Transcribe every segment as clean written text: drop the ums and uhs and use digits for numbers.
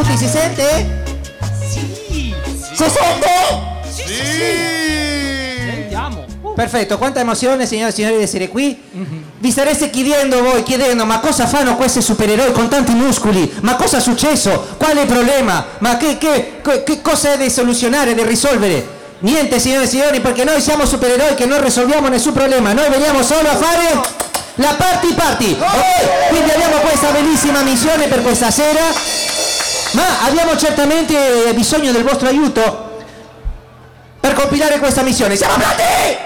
pronti? Si sente? Sì. Si sente? Sì. Sentiamo. Perfetto, quanta emozione, signore e signori, di essere qui. Vi stareste chiedendo, ma cosa fanno questi supereroi con tanti muscoli? Ma cosa è successo? Qual è il problema? Ma che cosa è da soluzionare, da risolvere? Niente, signore e signori, perché noi siamo supereroi che non risolviamo nessun problema. Noi veniamo solo a fare la party. Ok? Quindi abbiamo questa bellissima missione per questa sera, ma abbiamo certamente bisogno del vostro aiuto per compilare questa missione. Siamo pronti?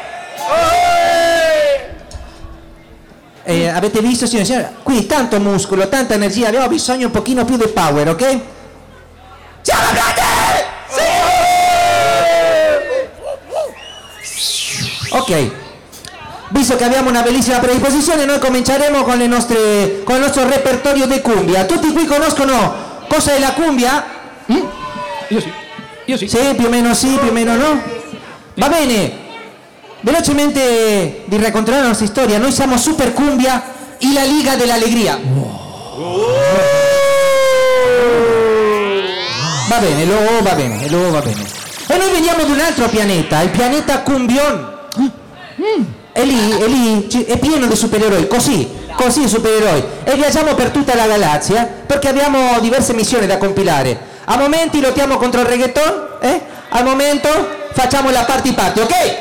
Avete visto, signore e signori? Qui tanto muscolo, tanta energia, abbiamo bisogno un pochino più di power, ok? Siamo pronti? Sì! Ok, visto che abbiamo una bellissima predisposizione, noi cominceremo con il nostro repertorio di cumbia. Tutti qui conoscono cosa è la cumbia? Io sì. Sì, più o meno sì, più o meno no. Va bene. Velocemente di raccontare la nostra storia, noi siamo Super Cumbia e la Liga dell'Allegria. Va bene, va bene. E noi veniamo da un altro pianeta, il pianeta Cumbion. E lì è pieno di supereroi, così supereroi. E viaggiamo per tutta la galassia perché abbiamo diverse missioni da compilare. A momenti lottiamo contro il reggaeton, al momento facciamo la party, ok?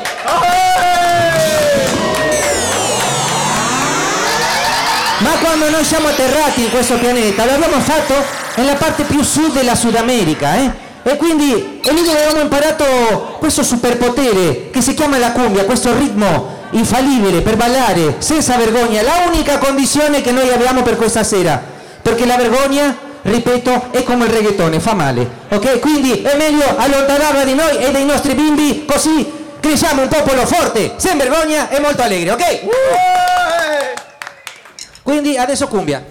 Ma quando noi siamo atterrati in questo pianeta, l'abbiamo fatto nella parte più sud della Sud America, E quindi è lì dove abbiamo imparato questo superpotere che si chiama la cumbia, questo ritmo infallibile per ballare senza vergogna. La unica condizione che noi abbiamo per questa sera, perché la vergogna, ripeto, è come il reggaeton, fa male, ok? Quindi è meglio allontanarla di noi e dai nostri bimbi, così cresciamo un popolo forte, senza vergogna e molto allegre, ok? Quindi adesso cumbia.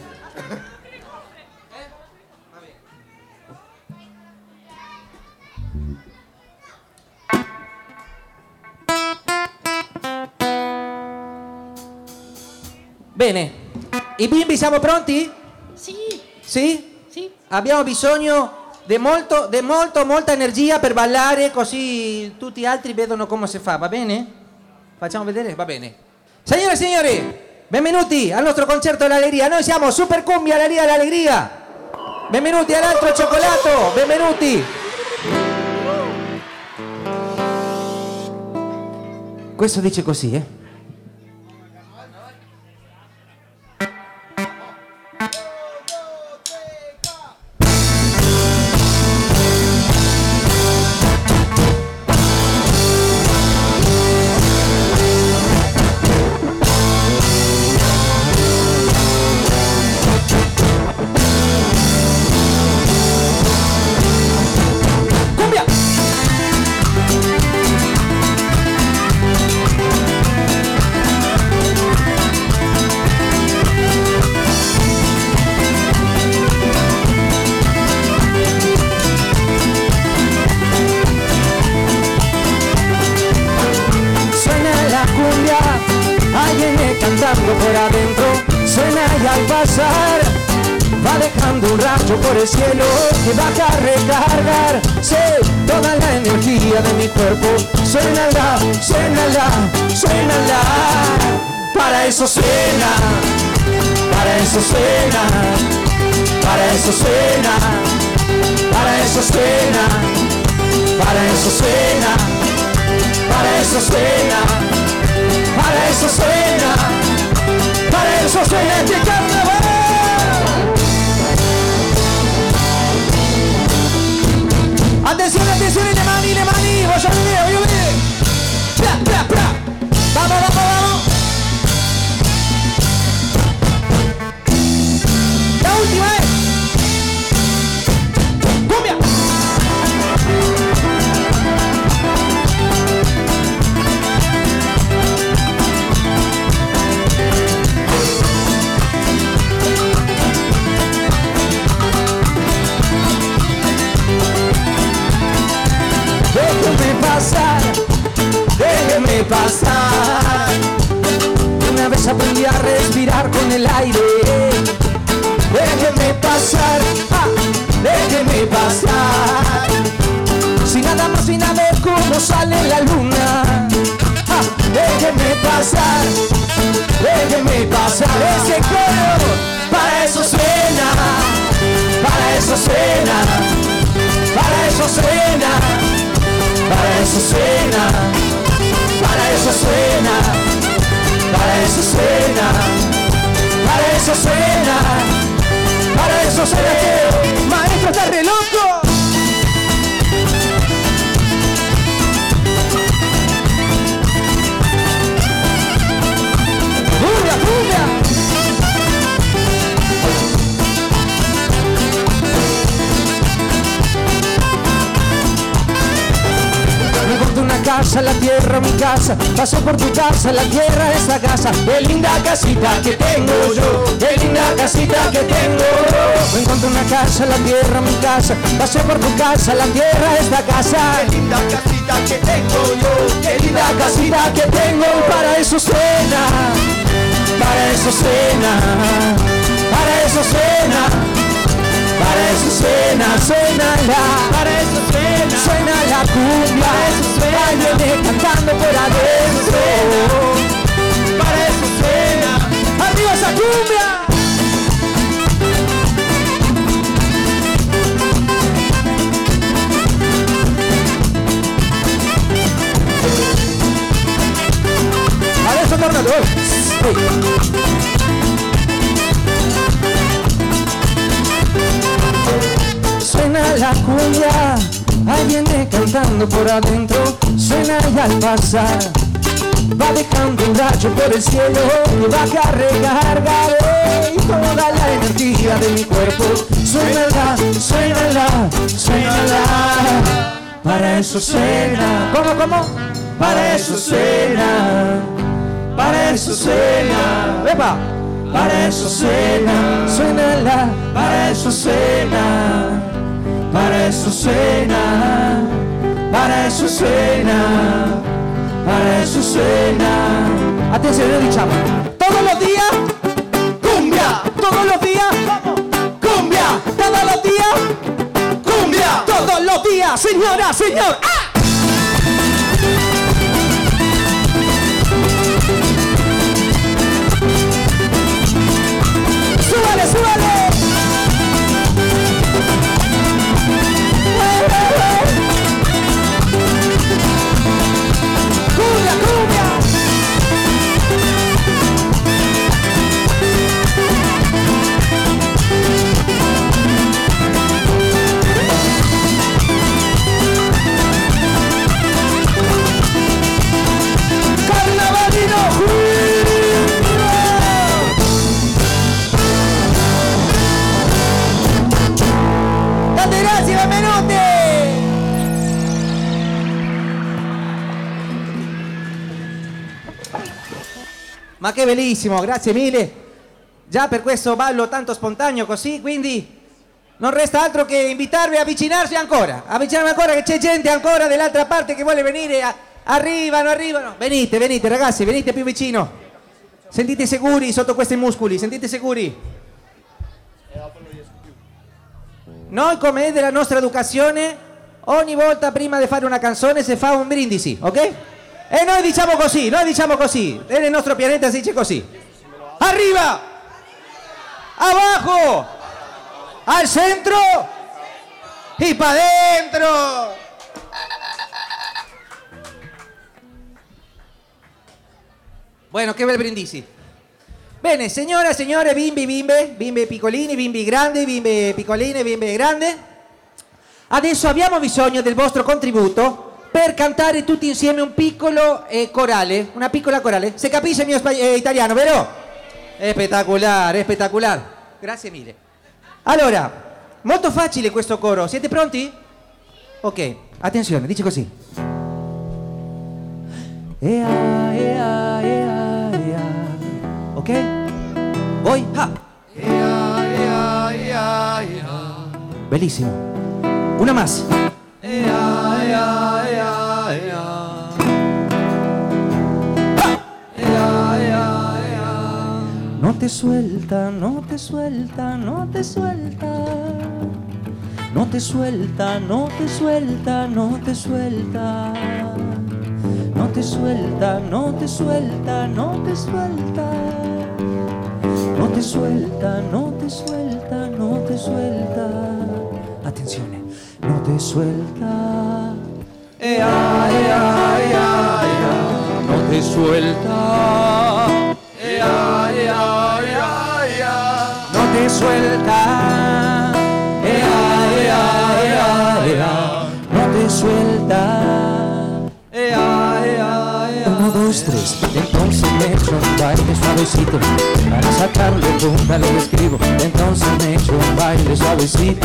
Bene, i bimbi siamo pronti? Sì. Sì? Sì. Abbiamo bisogno di molta energia per ballare, così tutti gli altri vedono come si fa, va bene? Facciamo vedere? Va bene. Signore e signori, benvenuti al nostro concerto dell'allegria. Noi siamo Super Cumbia, la Liga dell'Allegria. Benvenuti all'altro cioccolato, benvenuti. Questo dice così, por adentro, suena y al pasar va dejando un rayo por el cielo que va a recargar, toda la energía de mi cuerpo. Suénala, para eso suena, para eso suena, para eso suena, para eso suena, para eso suena, para eso suena, para eso suena, para eso suena este carnaval. Atención, atención, y le mani, voy a ver. Pra. Vamos. La última es cumbia. Déjeme pasar. Una vez aprendí a respirar con el aire. Déjeme pasar, déjeme no sale la luna. Ah, déjeme pasar ese coro. Para eso suena, para eso suena, para eso suena, para eso suena, para eso suena, para eso suena, para eso suena, para eso suena. Maestro, está re loco. ¡Cumbia, cumbia! Me encontré una casa, la tierra, mi casa. Pasé por tu casa, la tierra, esta casa. Qué linda casita que tengo yo, qué linda casita que tengo. Me encontré una casa, la tierra, mi casa. Pasé por tu casa, la tierra, esta casa. Qué linda casita que tengo yo, Qué linda casita que tengo. Para eso suena, para eso suena, para eso suena, para eso suena, suena la, para eso suena, suena la cumbia, para eso suena, viene cantando por adentro, para eso suena. ¡arriba esa cumbia! ¡A eso, Tornado! Suena la cumbia, ahí viene cantando por adentro. Suena y al pasar va dejando un rayo por el cielo y va a recargar toda la energía de mi cuerpo. Suénala, suénala, suénala. Para eso suena. ¿Cómo, cómo? Para eso suena. Para eso suena. ¡Epa! Para eso suena. Suénala. Para eso suena. Para eso suena. Para eso suena. Para eso suena. Atención, lo dichamos. Todos los días. Cumbia, Todos los días. cumbia, Todos los días. cumbia. Todos los días, señora, señor. ¡Ah! ¡Súbale, súbale! ¡Cumbia, cumbia! Ma che bellissimo, grazie mille. Già per questo ballo tanto spontaneo così, quindi non resta altro che invitarvi a avvicinarvi ancora che c'è gente ancora dall'altra parte che vuole venire. Arrivano, arrivano. Venite, venite ragazzi, venite più vicino. Sentite sicuri sotto questi muscoli, sentite sicuri. Noi, come è della nostra educazione, ogni volta prima di fare una canzone si fa un brindisi, ok? E noi diciamo così, e nel nostro pianeta si dice così. Arriba, abajo, al centro y pa' dentro. Bueno, che bel brindisi. Bene, signora, signore, bimbi, bimbe, bimbe piccolini, bimbi grandi, bimbe piccoline, bimbe grandi. Adesso abbiamo bisogno del vostro contributo per cantare tutti insieme un piccolo corale, una piccola corale. Se capisce il mio italiano, vero? Spettacolare, spettacolare. Grazie mille. Allora, molto facile questo coro. Siete pronti? Ok, attenzione, dice così. Ea, ea, ea, ea. Ok? Voi? Ha! Ea, ea, ea, ea. Bellissimo. Una más. Ea, ea, ea, ea. Ea, ea, ea. No te suelta, no te suelta, no te suelta. No te suelta, no te suelta, no te suelta. te suelta, no te suelta, no te suelta. No te suelta, no te suelta, no te suelta. Atención, no te suelta. Ea, ea, ea, ea. No te suelta. Ea, ea, ea, ea. No te suelta. Ea, ea, ea, ea. No te suelta. Ea, ea, ea. 1, 2, 3. Entonces me echo un baile suavecito. Para sacarle punta lo que escribo. Entonces me echo un baile suavecito.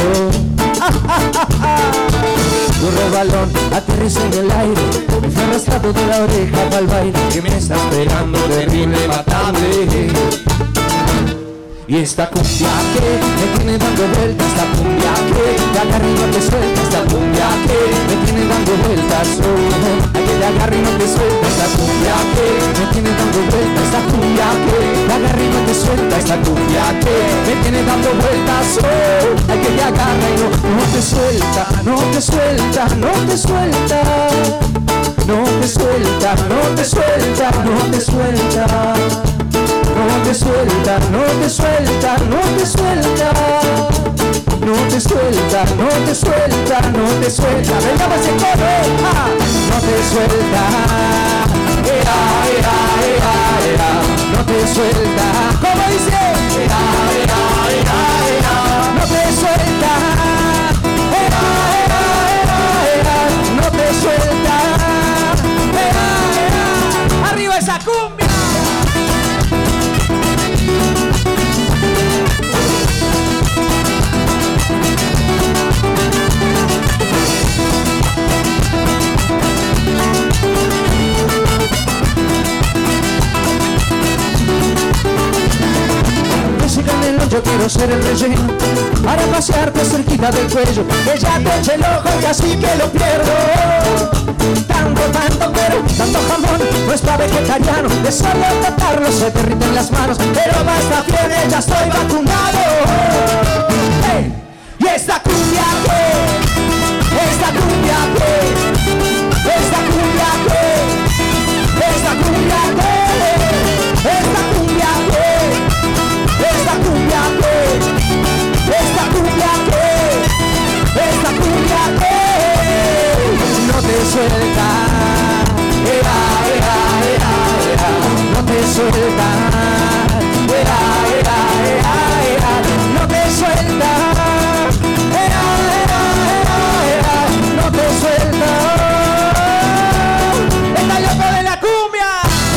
Corro balón, aterriza en el aire. Me fui arrastrado de la oreja para el baile. Que me está esperando terrible, matable. Y esta cumbia que me tiene dando vueltas, esta cumbia que de acá arriba te suelta, esta cumbia que me tiene dando vueltas, oh, ay, que de acá arriba te suelta, esta cumbia que me tiene dando vueltas, esta cumbia que de acá arriba te suelta, esta cumbia que me tiene dando vueltas, oh, ay, que te agarra y no te suelta, no te suelta, no te suelta, no te suelta, no te suelta, no te suelta. No te suelta, no te suelta, no te suelta. No te suelta, no te suelta, no te suelta. Venga, ese coro, ah. No te suelta. Ea, ea, ea, ea. No te suelta. ¿Cómo dice? Ea, ea, ea, ea. No te suelta. Ea, ea, ea, ea. No te suelta. Ea, ea. Arriba esa cumbia. Yo quiero ser el relleno para pasearte cerquita del cuello, que ya te eche el ojo y así que lo pierdo. Tanto, pero tanto jamón no es para vegetariano, de solo tocarlo se te derriten las manos, pero basta fiebre, ya estoy vacunado. Hey, y esta cumbia que, esta cumbia que, esta cumbia que, esta cumbia que, esta cumbia que. Esta cumbia que, esta cumbia que, esta cumbia que no te suelta, ea, ea, ea, ea, no te suelta, ea, ea, ea, ea, no te suelta, ea, ea, ea, ea, no te suelta. ¡Está loco de la cumbia!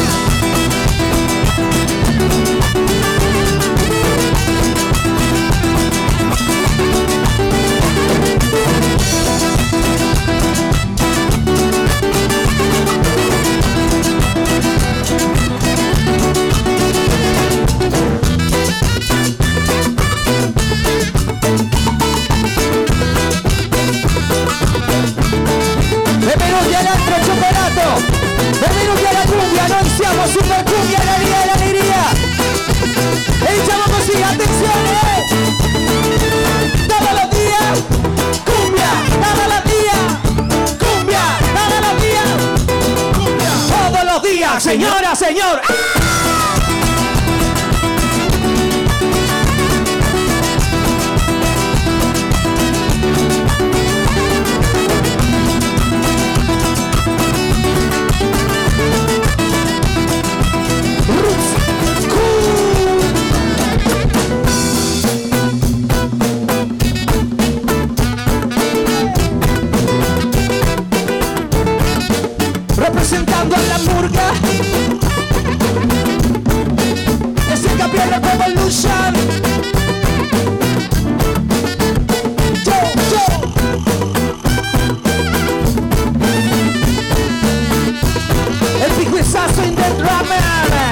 Benvenuti all'altro cioccolato, benvenuti alla cumbia, noi siamo Super Cumbia, l'allegria. E diciamo così, attenzione, todos los días, cumbia, todos los días, cumbia, todos los días, cumbia, todos los días, señora, señor. Representando a la murga, es el campeón de Evolution. Yo. El picuizazo in the drummer.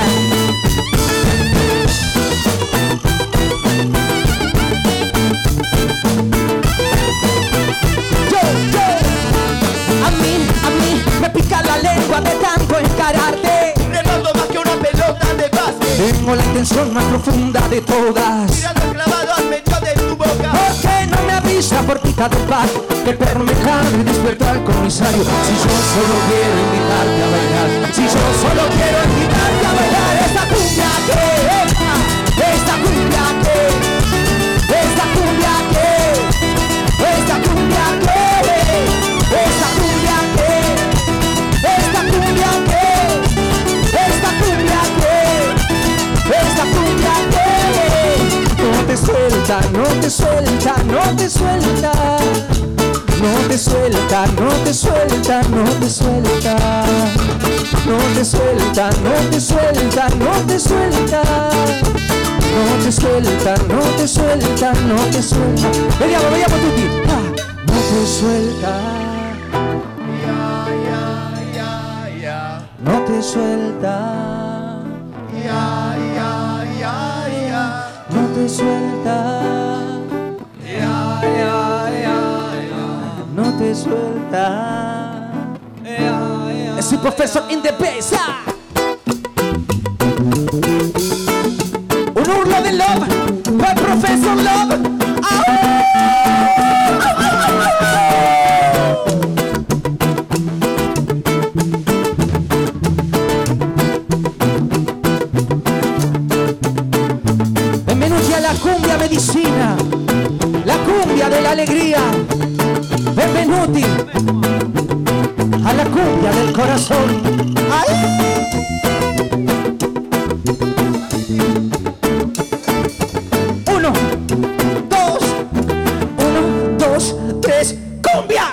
A mí me pica la lengua de tanto encararte. Remando más que una pelota de básquet. Tengo la intención más profunda de todas. Tirando clavado al medio de tu boca. ¿Por qué no me avisa por quita del bar? Que el perro me jale y despertó al comisario. Si yo solo quiero invitarte a bailar Si yo solo quiero invitarte a bailar esta cumbia que, esta cumbia que, esta cumbia que, esta cumbia que, esta cumbia que, esta cumbia que, esta cumbia que, esta cumbia que. No te suelta, no te suelta, no te suelta. No te suelta, no te suelta, no te suelta. No te suelta, no te suelta, no te suelta. No te suelta, no te suelta, no te suelta. Vediamo tutti. No te suelta. No te suelta. No te suelta. No te suelta. Es el profesor in the bass. Un urlo de love para el profesor Love. Benvenuti alla cumbia medicina, la cumbia dell'allegria. Benvenuti alla cumbia del corazón. ¡Ay! Uno, dos, tres, cumbia.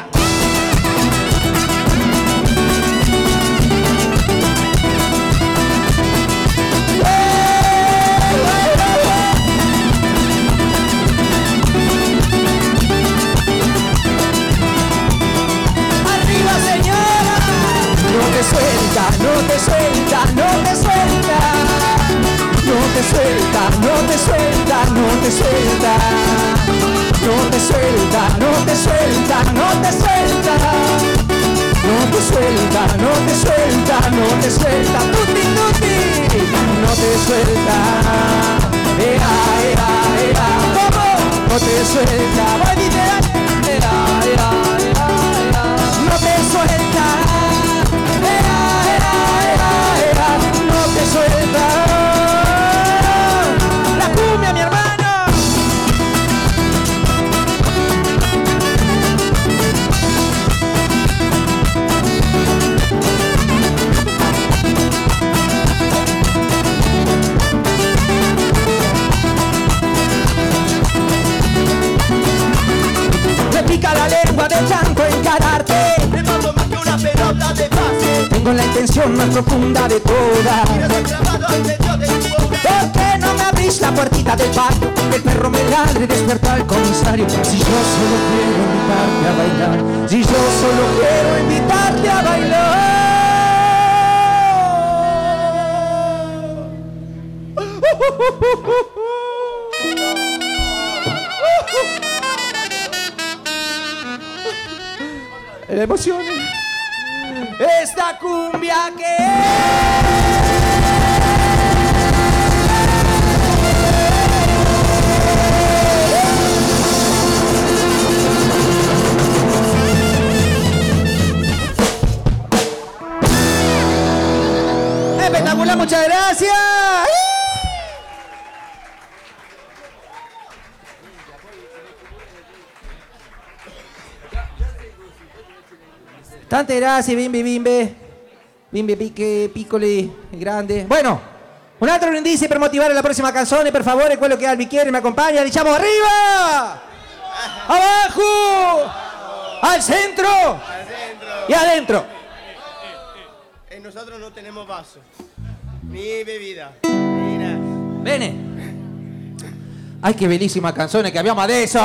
No te suelta, no te suelta, no te suelta. No te suelta, no te suelta, no te suelta. No te suelta, no te suelta, no te suelta. No te suelta, no te suelta, no te suelta. Tutti, tutti. No te suelta. Ea, ea, ea. ¿Cómo? No te suelta. Voy, dile. Ea, ea, ea, ea. No te suelta. No te suelta la cumbia, mi hermano. Me pica la lengua de tanto encararte. Me mando más que una pelota de base. Tengo la intención más profunda de todas. Quedo clavado al medio de tu boca. ¿Por qué no me abrís la puertita del patio? El perro me ladre y despierta al comisario. Si yo solo quiero invitarte a bailar. Si yo solo quiero invitarte a bailar. La emoción. Esta cumbia que espectacular, muchas gracias. Tante grazie, bimbe piccoli e grandi. Bueno, un altro brindisi per motivare la prossima canzone, per favore, quello che ha il bicchiere mi accompagna, diciamo arriba, abajo, al centro y adentro. Nosotros no tenemos vaso, ni bebida, ni nada. Bene. Ai, che bellissima canzone che abbiamo adesso.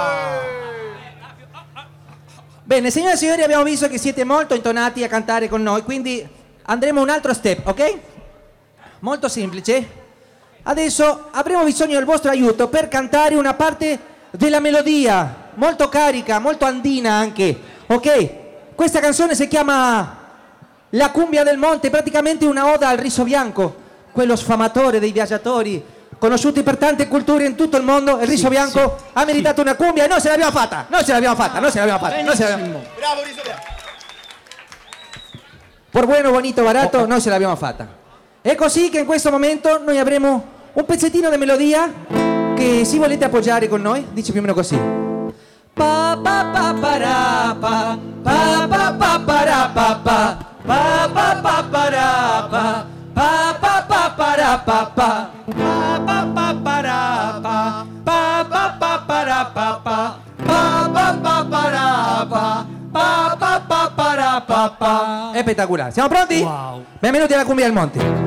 Bene, signore e signori, abbiamo visto che siete molto intonati a cantare con noi, quindi andremo un altro step, ok? Molto semplice. Adesso avremo bisogno del vostro aiuto per cantare una parte della melodia, molto carica, molto andina anche, ok? Questa canzone si chiama La cumbia del monte, praticamente una oda al riso bianco, quello sfamatore dei viaggiatori, conosciuti per tante culture in tutto il mondo. Il riso bianco ha meritato una cumbia e noi ce l'abbiamo fatta, noi ce l'abbiamo fatta, noi ce l'abbiamo fatta, noi ce l'abbiamo fatta. Bravo, riso bianco. per buono, bonito, barato, noi ce l'abbiamo fatta. È così che in questo momento noi avremo un pezzettino di melodia che se volete appoggiare con noi, dice più o meno così. Pa pa pa para pa pa pa pa para pa pa pa pa pa para pa pa pa pa para pa pa pa pa pa para pa pa pa pa para pa pa pa pa pa para pa pa pa pa para pa pa. È spettacolare. Siamo pronti? Wow. Benvenuti alla Cumbia del Monte.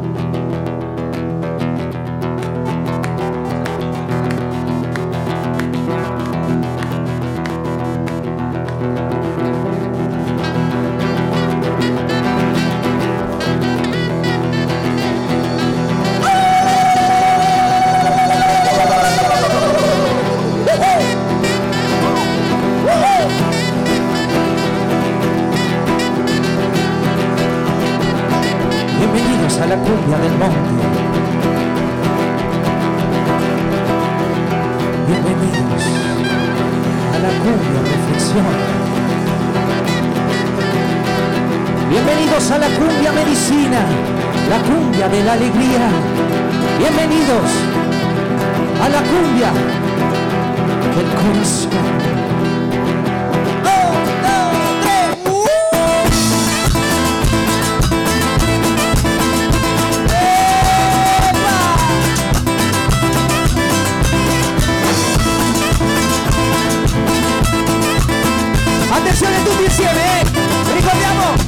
Bienvenidos a la Cumbia del Monte. Bienvenidos a la Cumbia Reflexión. Bienvenidos a la Cumbia Medicina, la Cumbia de la Alegría. Bienvenidos a la Cumbia del Corazón. Attenzione tutti insieme, ricordiamo. 1, 2,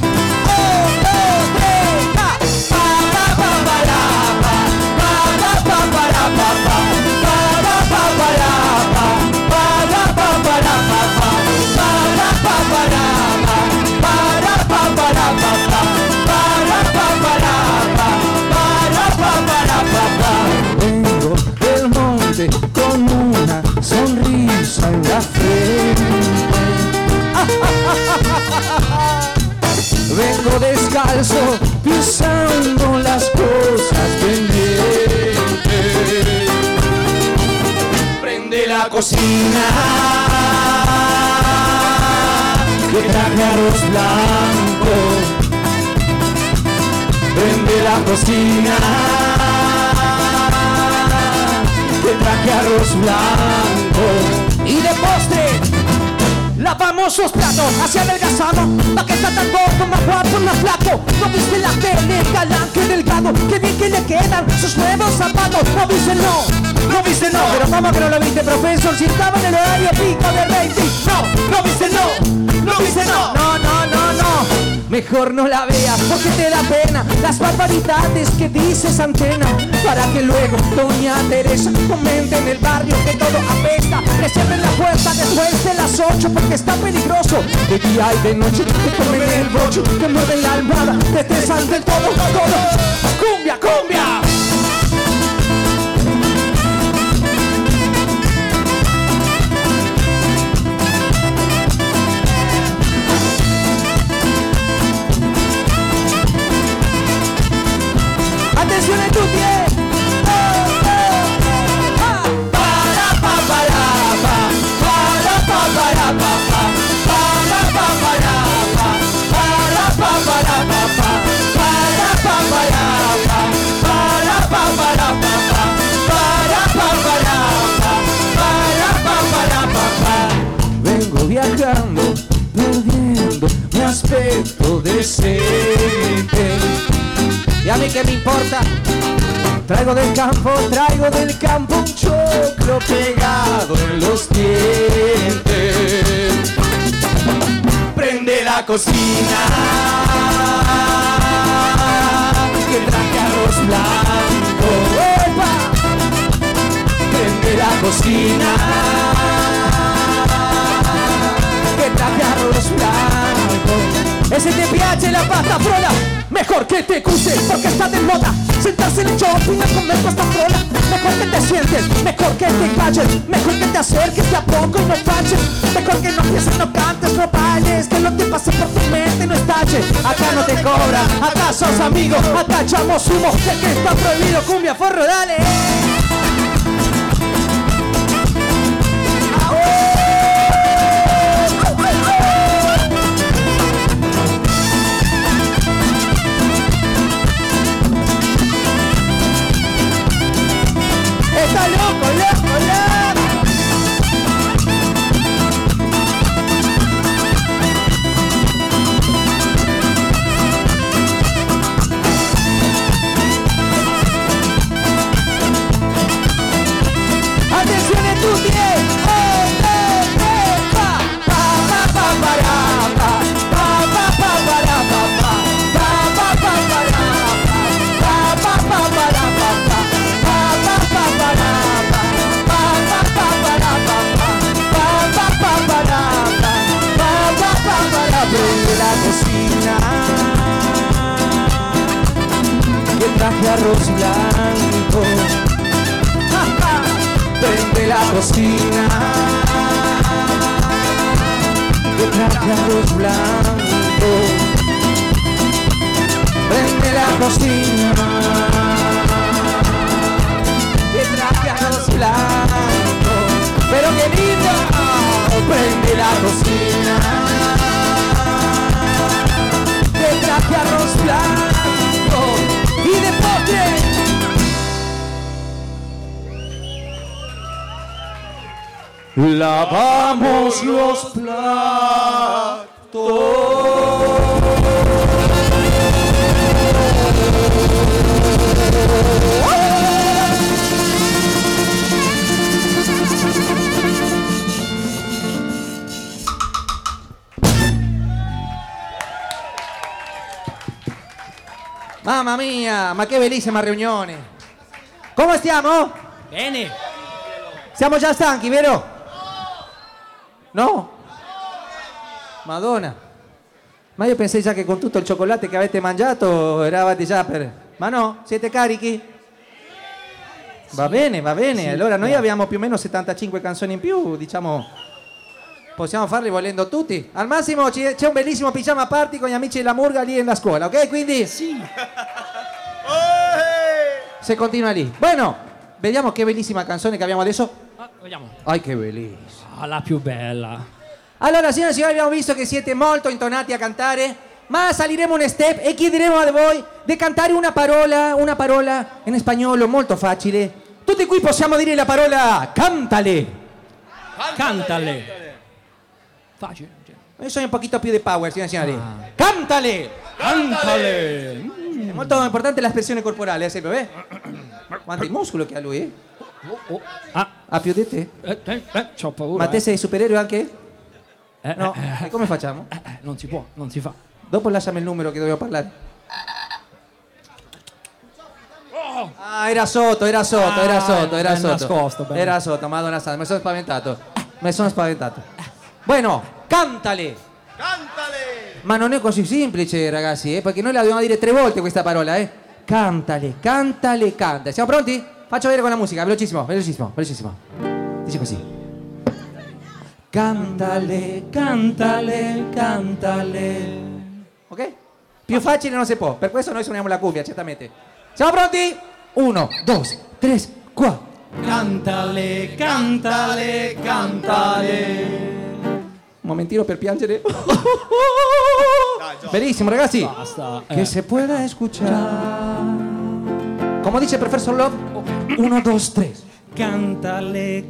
3, pa pa pa pa la pa pa pa pa la pa pa pa pa pa la pa pa pa pa la pa pa pa pa pa la pa pa pa la pa pa pa la pa. Vengo del monte con una sonrisa en la frente. Vengo descalzo, pisando las cosas pendientes. Prende la cocina, que traje arroz blanco. Prende la cocina, que traje arroz blanco. Y de postre, lavamos sus platos hacia adelgazado, pa' que está tan gordo, más guapo, más flaco. No viste la tele, galán, que delgado, que bien que le quedan sus nuevos zapatos. No viste no viste no. Pero ¿cómo que no lo viste, profesor? Si estaba en el horario pico de rating. No viste no viste no. Mejor no la veas porque te da pena las barbaridades que dices antena. Para que luego doña Teresa comente en el barrio que todo apesta. Que cierren la puerta después de las 8 porque está peligroso. De día y de noche te comen el bocho, te mueven la almohada, te tesan del todo. ¡Cumbia, cumbia! Attenzione a tutti, vengo viajando, perdiendo mi aspetto decente. ¿Y a mí qué me importa? Traigo del campo un choclo pegado en los dientes. Prende la cocina, que traje arroz blanco. ¡Epa! Prende la cocina, che traje arroz blanco. E se ti piace la pasta frolla, mejor que te guste porque está de moda. Sentarse en el shopping a comer pasta frolla. Mejor que te sientes, mejor que te calles, mejor que te acerques de a poco y no falles. Mejor que no pienses, no cantes, no bailes, que lo que pase por tu mente no estalle. Acá no te cobran, acá sos amigos, acá echamos humo, de que está prohibido. Cumbia, forro, dale. traje arroz blanco. Prende la cocina. Que traje arroz blanco. Prende la cocina. Que traje arroz blanco. Pero qué lindo. Prende la cocina. Que traje arroz blanco. Y de postre. Lavamos los platos. Mamma mia, ma che bellissima riunione. Come stiamo? Bene. Siamo già stanchi, vero? No? Madonna. Ma io pensai già che con tutto il cioccolato che avete mangiato eravate già per... Ma no? Siete carichi? Va bene, va bene. Sì, allora noi abbiamo più o meno 75 canzoni in più, diciamo... Possiamo farli volendo tutti. Al massimo c'è un bellissimo pigiama party con gli amici della Murga lì nella scuola, ok? Quindi... Sì. Se continua lì. Bueno, vediamo che bellissima canzone che abbiamo adesso. Vediamo. Ai, che bellissima. La più bella. Allora, signore e signori, abbiamo visto che siete molto intonati a cantare, ma saliremo un step e chiederemo a voi di cantare una parola in spagnolo molto facile. Tutti qui possiamo dire la parola cantale. Cantale. Facile. Io sono un pochino più di power, signore e signori. Cantale. Cantale. È molto importante l'espressione corporale, sempre, eh? Quanto il muscolo che ha lui, eh? Ha più di te? C'ho paura. Ma te sei supereroe anche? No? E come facciamo? Non si può, non si fa. Dopo lasciami il numero che dobbiamo parlare. Ah, era sotto. Nascosto, bene. Era sotto, madonna santa, mi sono spaventato. Bueno, cantale. Cantale! Ma non è così semplice, ragazzi, perché noi la dobbiamo dire 3 volte questa parola, eh? Cantale. Siamo pronti? Faccio vedere con la musica, velocissimo. Dice così. Cantale. Ok? Più facile non si può, per questo noi suoniamo la cuffia, certamente. Siamo pronti? 1, 2, 3, 4. Cantale. Un momentino per piangere. Dai, Gio. Bellissimo, ragazzi. Basta. Que se pueda escuchar. Como dice Professor Love. 1, 2, 3. Cantale.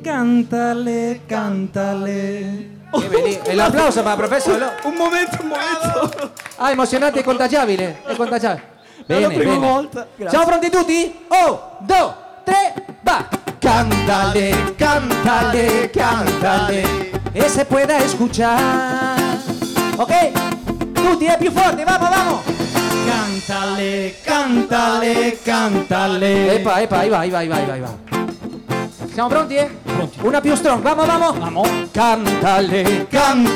El applauso para Professor Love. Un momento. Ah, emozionante e contagiabile. Bene, la prima bene. volta. Grazie. Siamo pronti tutti? 1, 2, 3, va. Cántale. E se pueda escuchar. Ok? Tutti, più forte, vamos. Cantale. Epa, ahí va. Siamo pronti, eh? Pronti. Una più strong, vamos. Vamos. Cántale.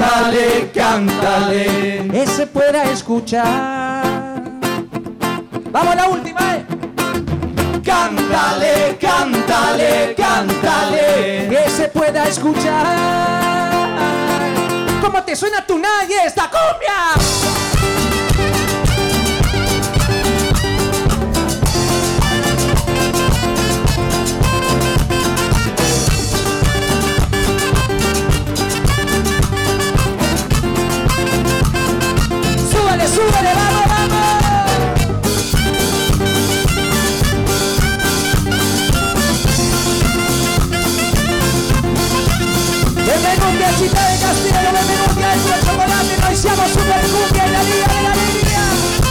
E se pueda escuchar. Vamos, la última, eh. Cántale. Que se pueda escuchar. ¿Cómo te suena tu nadie esta cumbia? Súbele, vamos. Benvenuti a Città del Castiello, benvenuti a Extra Chocolate, noi siamo Super Cumbia en la Liga de la Alegría.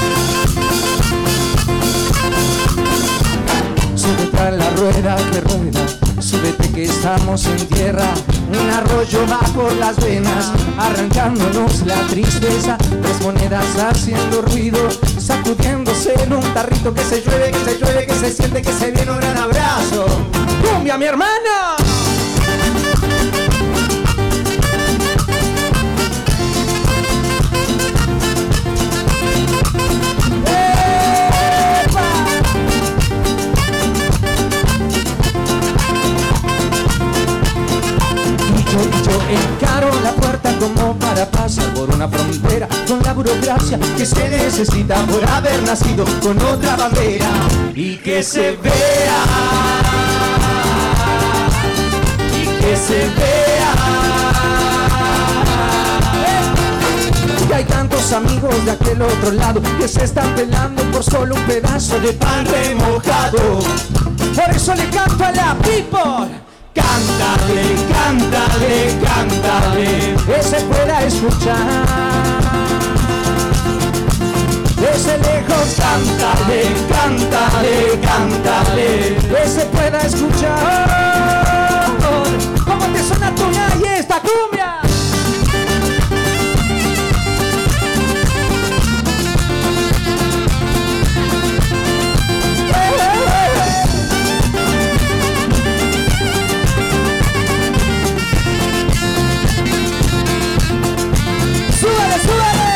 Sube tras la rueda que rueda, súbete que estamos en tierra. Un arroyo va por las venas, arrancándonos la tristeza. 3 monedas haciendo ruido, sacudiéndose en un tarrito. Que se llueve, que se siente, que se viene un gran abrazo. ¡Cumbia, mi hermana! ¡Epa! gracia que se necesita por haber nacido con otra bandera. Y que se vea, y que se vea. Y hay tantos amigos de aquel otro lado que se están peleando por solo un pedazo de pan remojado. Por eso le canto a la people. Cántale, cántale, cántale, que se pueda escuchar. Desde lejos, cántale, cántale, cántale, que se pueda escuchar. ¿Cómo te suena tu y esta cumbia? ¡Súbele, súbele!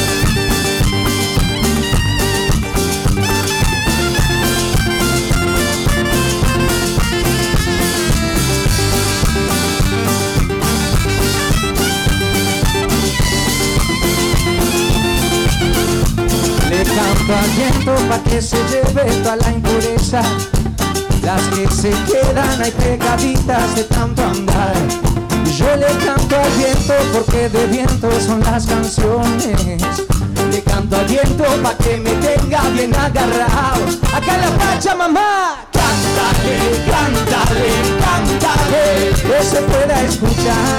Le canto al viento pa' que se lleve toda la impureza, las que se quedan ahí pegaditas de tanto andar. Yo le canto al viento porque de viento son las canciones. Le canto al viento pa' que me tenga bien agarrado. Acá en la Pachamama. Cántale, cántale, cántale, que se pueda escuchar.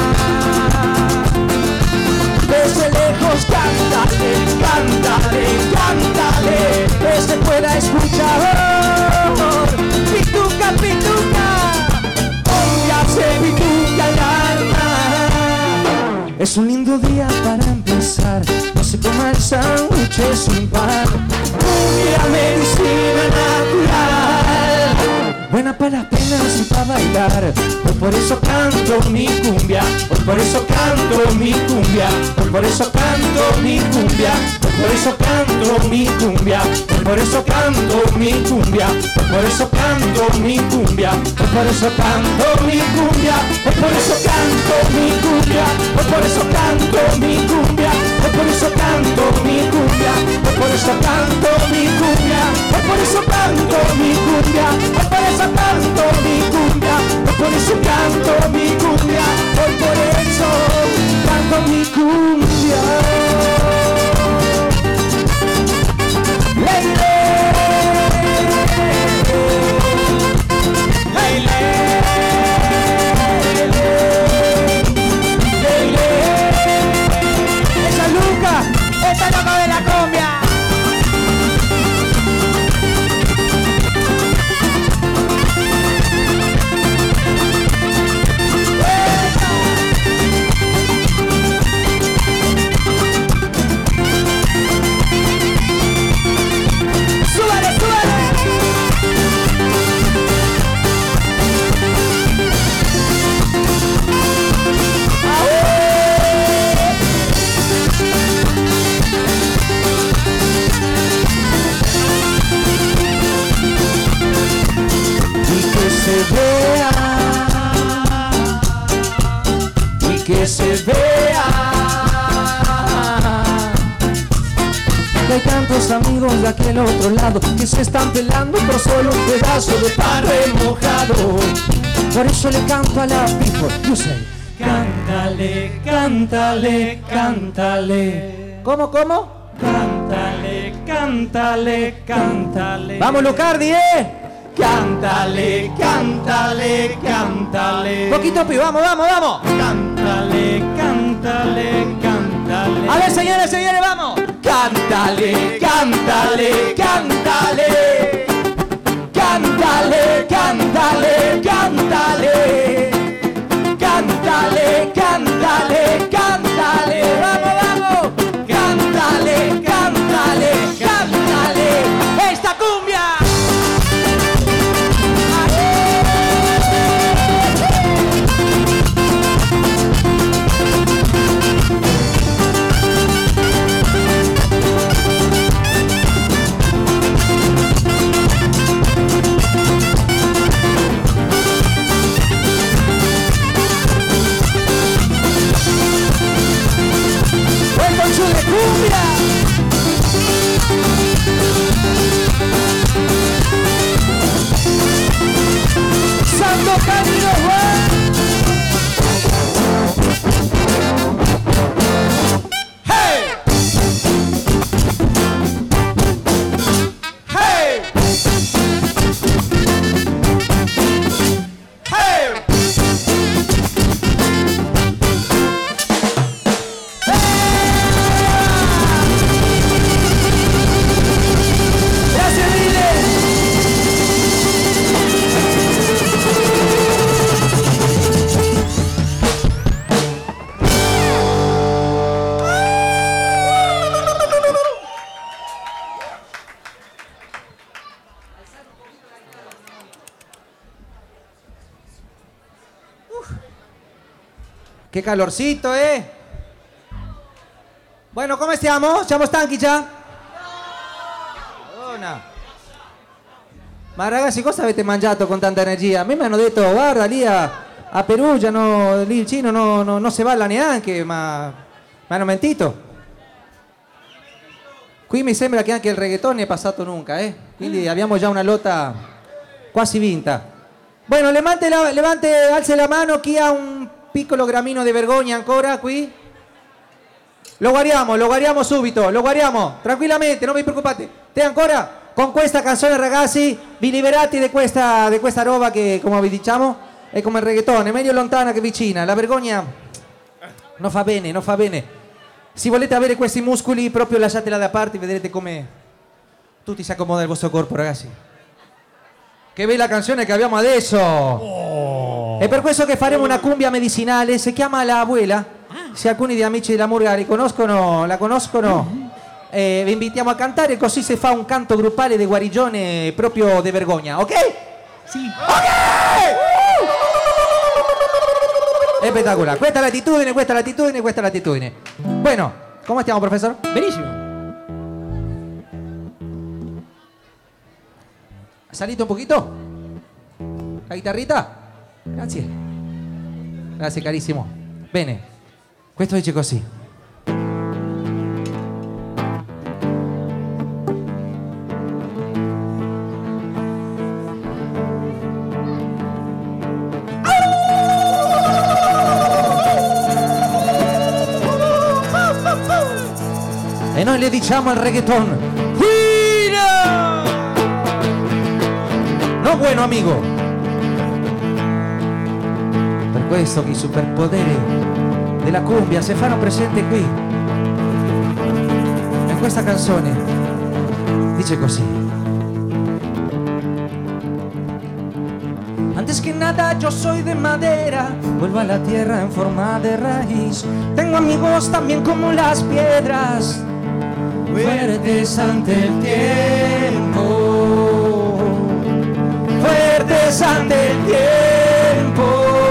Desde lejos, cántale, cántale, cántale, que se pueda escuchar. Pituca, pituca, póngase pituca el alma. Es un lindo día para empezar, no se coma el sándwich sin pan. Cumbia, medicina natural, buena para las penas y para bailar. Hoy por eso canto mi cumbia, hoy por eso canto mi cumbia, hoy por eso canto mi cumbia, hoy por eso canto mi cumbia, hoy por eso canto mi cumbia, hoy por eso canto mi cumbia, hoy por eso canto mi cumbia, hoy por eso canto mi cumbia, hoy por eso canto mi cumbia, hoy por eso canto mi cumbia, hoy por eso canto mi cumbia, hoy por eso canto mi cumbia, hoy por eso canto mi cumbia, hoy por eso canto mi cumbia, hoy por eso canto mi cumbia. Leile, leile, leile. Esa Luca, esta loco de la cumbia. Que se vea, que hay tantos amigos de aquel otro lado que se están pelando por solo un pedazo de pan remojado. Por eso le canto a la people, you say. Cántale, cántale, cántale. ¿Cómo, cómo? Cántale, cántale, cántale. Vamos, Lucardi, cántale, cántale, cántale. Poquito, pi, vamos, vamos, vamos. Cántale, cántale, cántale. A ver, señores, señores, vamos. Cántale, cántale, cántale. Cántale, cántale, cántale. Cántale, cántale, cántale. Vamos, vamos. Cántale, cántale, cántale. Esta cumbia. ¡Chule cumbia! Che calorcito, eh? Bueno, come stiamo? Siamo stanchi già? Madonna. Ma ragazzi, cosa avete mangiato con tanta energia? A me mi hanno detto, guarda, lì a Perugia, no, lì il Cino non si balla neanche, ma mi hanno mentito. Qui mi sembra che anche il reggaeton ne è passato nunca, eh? Quindi abbiamo già una lotta quasi vinta. Bueno, alze la mano chi ha un piccolo gramino di vergogna ancora qui. Lo guardiamo subito, lo guardiamo, tranquillamente, non vi preoccupate. Te ancora? Con questa canzone, ragazzi, vi liberate di questa roba che, come vi diciamo, è come il reggaeton, è meglio lontana che vicina. La vergogna non fa bene, non fa bene. Se volete avere questi muscoli, proprio lasciatela da parte e vedrete come tutti si accomoda il vostro corpo, ragazzi. Che bella canzone che abbiamo adesso! Oh. È per questo che faremo una cumbia medicinale, si chiama La Abuela. Se alcuni di amici della Murga la conoscono, vi invitiamo a cantare, così si fa un canto gruppale di guarigione proprio di vergogna, ok? Sì. Ok! Espectacular. Questa è l'attitudine, questa è l'attitudine, questa è l'attitudine. Bueno, come stiamo, professor? Benissimo. Salite un poquito. La chitarrita. Grazie. Grazie carissimo. Bene. Questo dice così. E noi le diciamo al reggaeton: ¡Fuera! No bueno, amigo. Per questo che i superpoteri della cumbia si fanno presente qui. E questa canzone dice così: antes que nada yo soy de madera, vuelvo a la tierra en forma de raíz. Tengo amigos también como las piedras, fuertes ante el tiempo, fuertes ante el tiempo.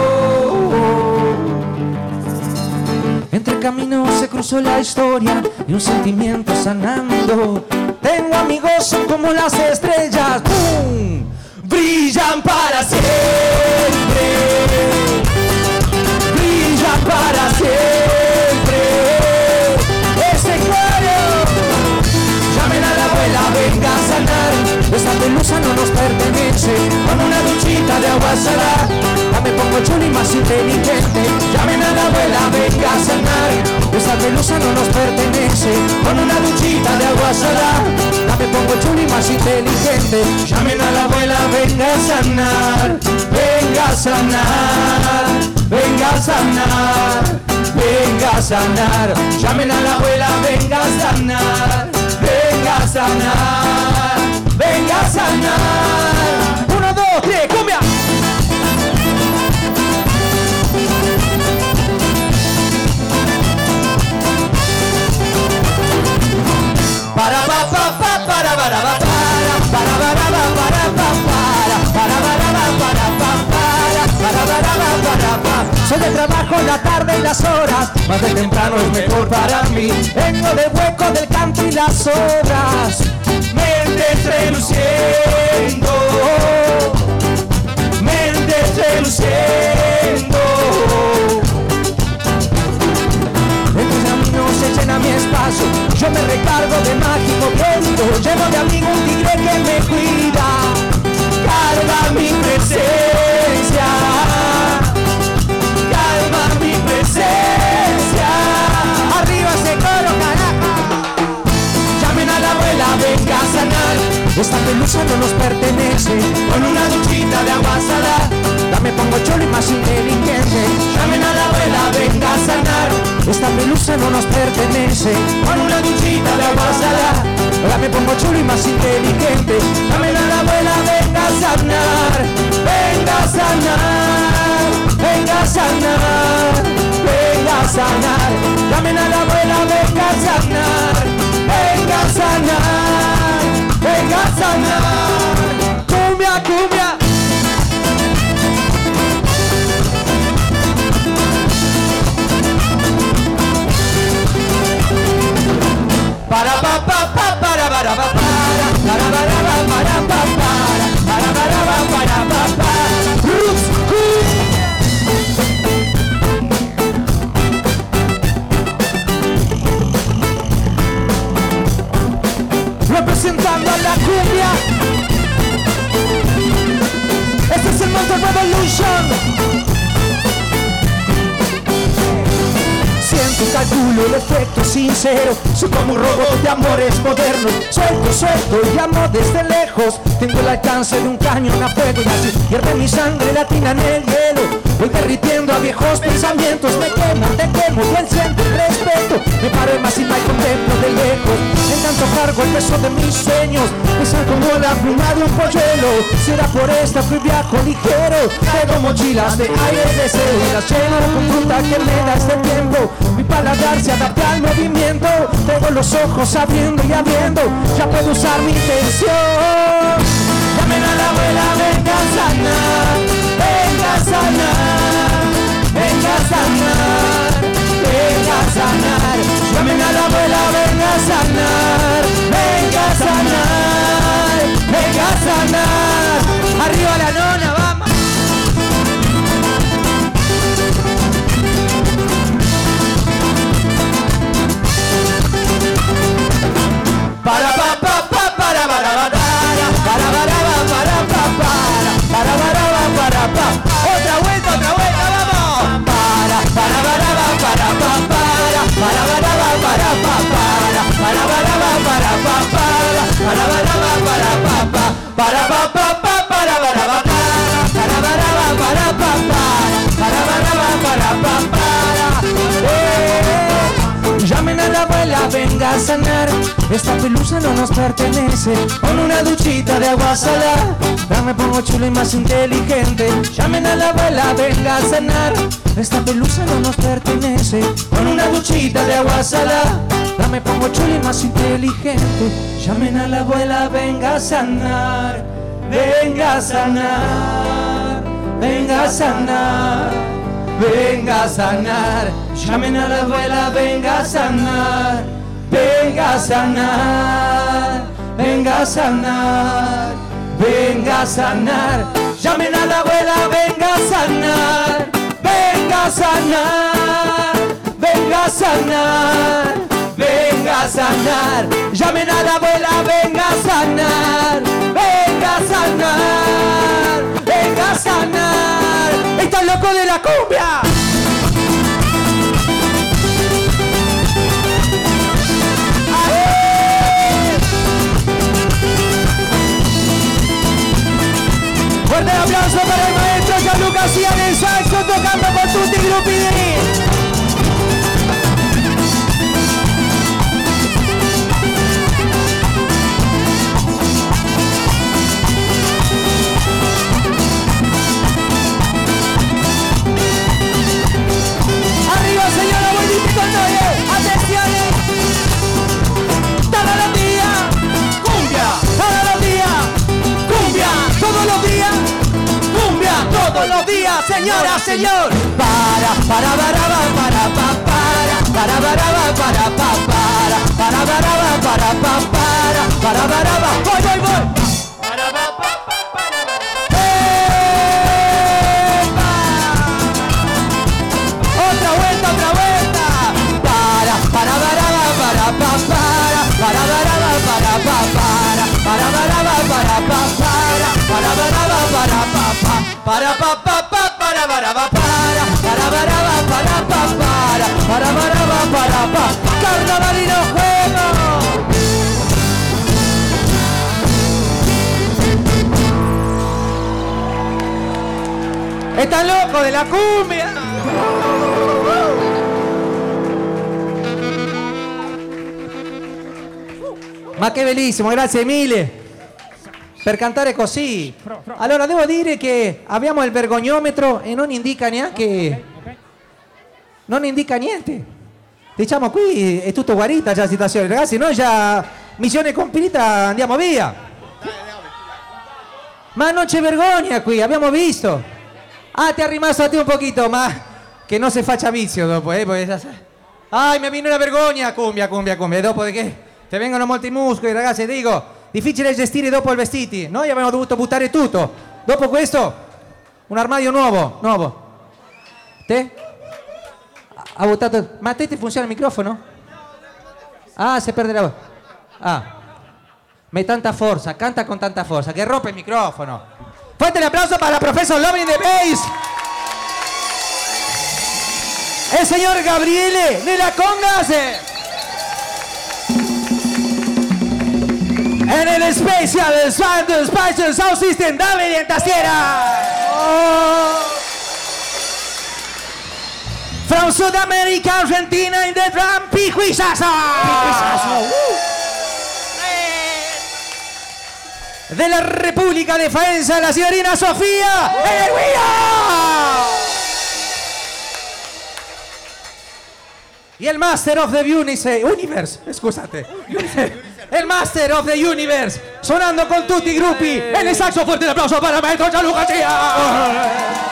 Entre caminos se cruzó la historia y un sentimiento sanando. Tengo amigos, son como las estrellas, ¡pum! Brillan para siempre, brillan para siempre. Ese cuero, llamen a la abuela, venga a sanar. Esta pelusa no nos pertenece, con una duchita de agua salada. Ya me pongo chulo y más inteligente. Llamen a la abuela, venga a sanar. Esta pelusa no nos pertenece, con una duchita de agua salada. Ya me pongo chulo y más inteligente. Llamen a la abuela, venga a sanar, venga a sanar, venga a sanar, venga a sanar. Llamen a la abuela, venga a sanar, venga a sanar, venga a sanar. 1, 2, 3, cumbia. Para pa pa pa para para pa para soy de trabajo en la tarde y las horas, más de temprano es mejor para mí. Vengo del hueco del canto y las obras, mentes reluciendo, mentes reluciendo. El camino se llena mi espacio, yo me recargo de mágico viento. Llevo de amigo un tigre que me cuida, calma mi presencia, calma mi presencia. Arriba ese coro, carajo. Llamen a la abuela, venga a sanar. Esta pelusa no nos pertenece, con una duchita de agua salada. Ya me pongo cholo y más inteligente. Llamen a la abuela, venga a sanar. Esta pelusa no nos pertenece, con una duchita de agua salada. Ya me pongo chulo y más inteligente. Llamen a la abuela, venga a sanar, venga a sanar, venga a sanar, venga a sanar. Llamen a la abuela, venga a sanar, venga a sanar, venga a sanar. Cumbia, cumbia. culo, el efecto sincero. Soy como un robot de amores modernos. Suelto y llamo desde lejos. Tengo el alcance de un cañón a fuego y así hierve mi sangre latina en el hielo. Voy derritiendo a viejos pensamientos. Me quemo, te quemo, y él siente el respeto. Me paro en más y contemplo de lejos. En tanto cargo el peso de mis sueños. Pesan como la pluma de un polluelo. Será por esta que viajo ligero. Traigo mochilas de aire y deseo y las lleno con fruta que me da este tiempo. Mi paladar se adapta al movimiento. Tengo los ojos abriendo y abriendo. Ya puedo usar mi intención. Llamen a la abuela, venga a sanar. Venga a sanar. Venga a sanar. Venga a sanar. Llamen a la abuela, venga a sanar. Venga a sanar. Venga a sanar. Arriba la nona, vamos. Para pa pa pa para para otra vuelta, vamos. Llamen a la abuela, venga a sanar. Esta pelusa no nos pertenece. Con una duchita de agua salada ya me pongo chulo y más inteligente. Llamen a la abuela, venga a sanar. Esta pelusa no nos pertenece. Con una duchita de agua salada ya me pongo chulo y más inteligente. Llamen a la abuela, venga a sanar. Venga a sanar. Venga a sanar. Venga a sanar. Llamen a la abuela, venga a sanar. Venga a sanar. Venga a sanar. Venga a sanar. Llamen a la abuela, venga a sanar. Venga a sanar. Venga a sanar. Venga a sanar. Llamen a la abuela, venga a sanar. Venga a sanar. Venga a sanar. ¡Está loco de la cumbia! Fuerte el aplauso para el maestro Gianluca Sia en el saxo tocando con tutti gruppi. Arriba señora, buenito con todo. Atención. Todos los días. Cumbia. Todos los días. Cumbia. Todos los días. Cumbia. Todos los días, señora, señor. Para para voy. Otra vuelta. Carnaval y los juegos. ¡Están locos de la cumbia! Ma che bellissimo, grazie mille per cantare così. Allora devo dire che abbiamo il vergognometro e non indica neanche, non indica niente. Diciamo qui è tutto guarita già la situazione, ragazzi, noi già missione compita, andiamo via. Ma non c'è vergogna qui, abbiamo visto. Ah, ti è rimasto a te un pochino, ma che non si faccia vizio dopo, Ai, mi viene una vergogna, cumbia. E dopo di che ti vengono molti muscoli, ragazzi, dico, difficile gestire dopo i vestiti. Noi abbiamo dovuto buttare tutto. Dopo questo, un armadio nuovo. Te? Ha buttato... Ma a te ti funziona il microfono? Ah, si perde la voce. Ah. Me tanta forza, canta con tanta forza, che rompe il microfono. Fuerte el aplauso para el profesor Loving the Bass. il signor Gabriele nella congas. E nel special sound system Davide in tastiera. From South America, Argentina in the drum, Piqui Sasso. Della República de Faenza, la signorina Sofia e il Master of the Universe, scusate, il Master of the Universe, suonando con tutti i gruppi, e nel saxo forte l'applauso per Maestro Gianluca Cia.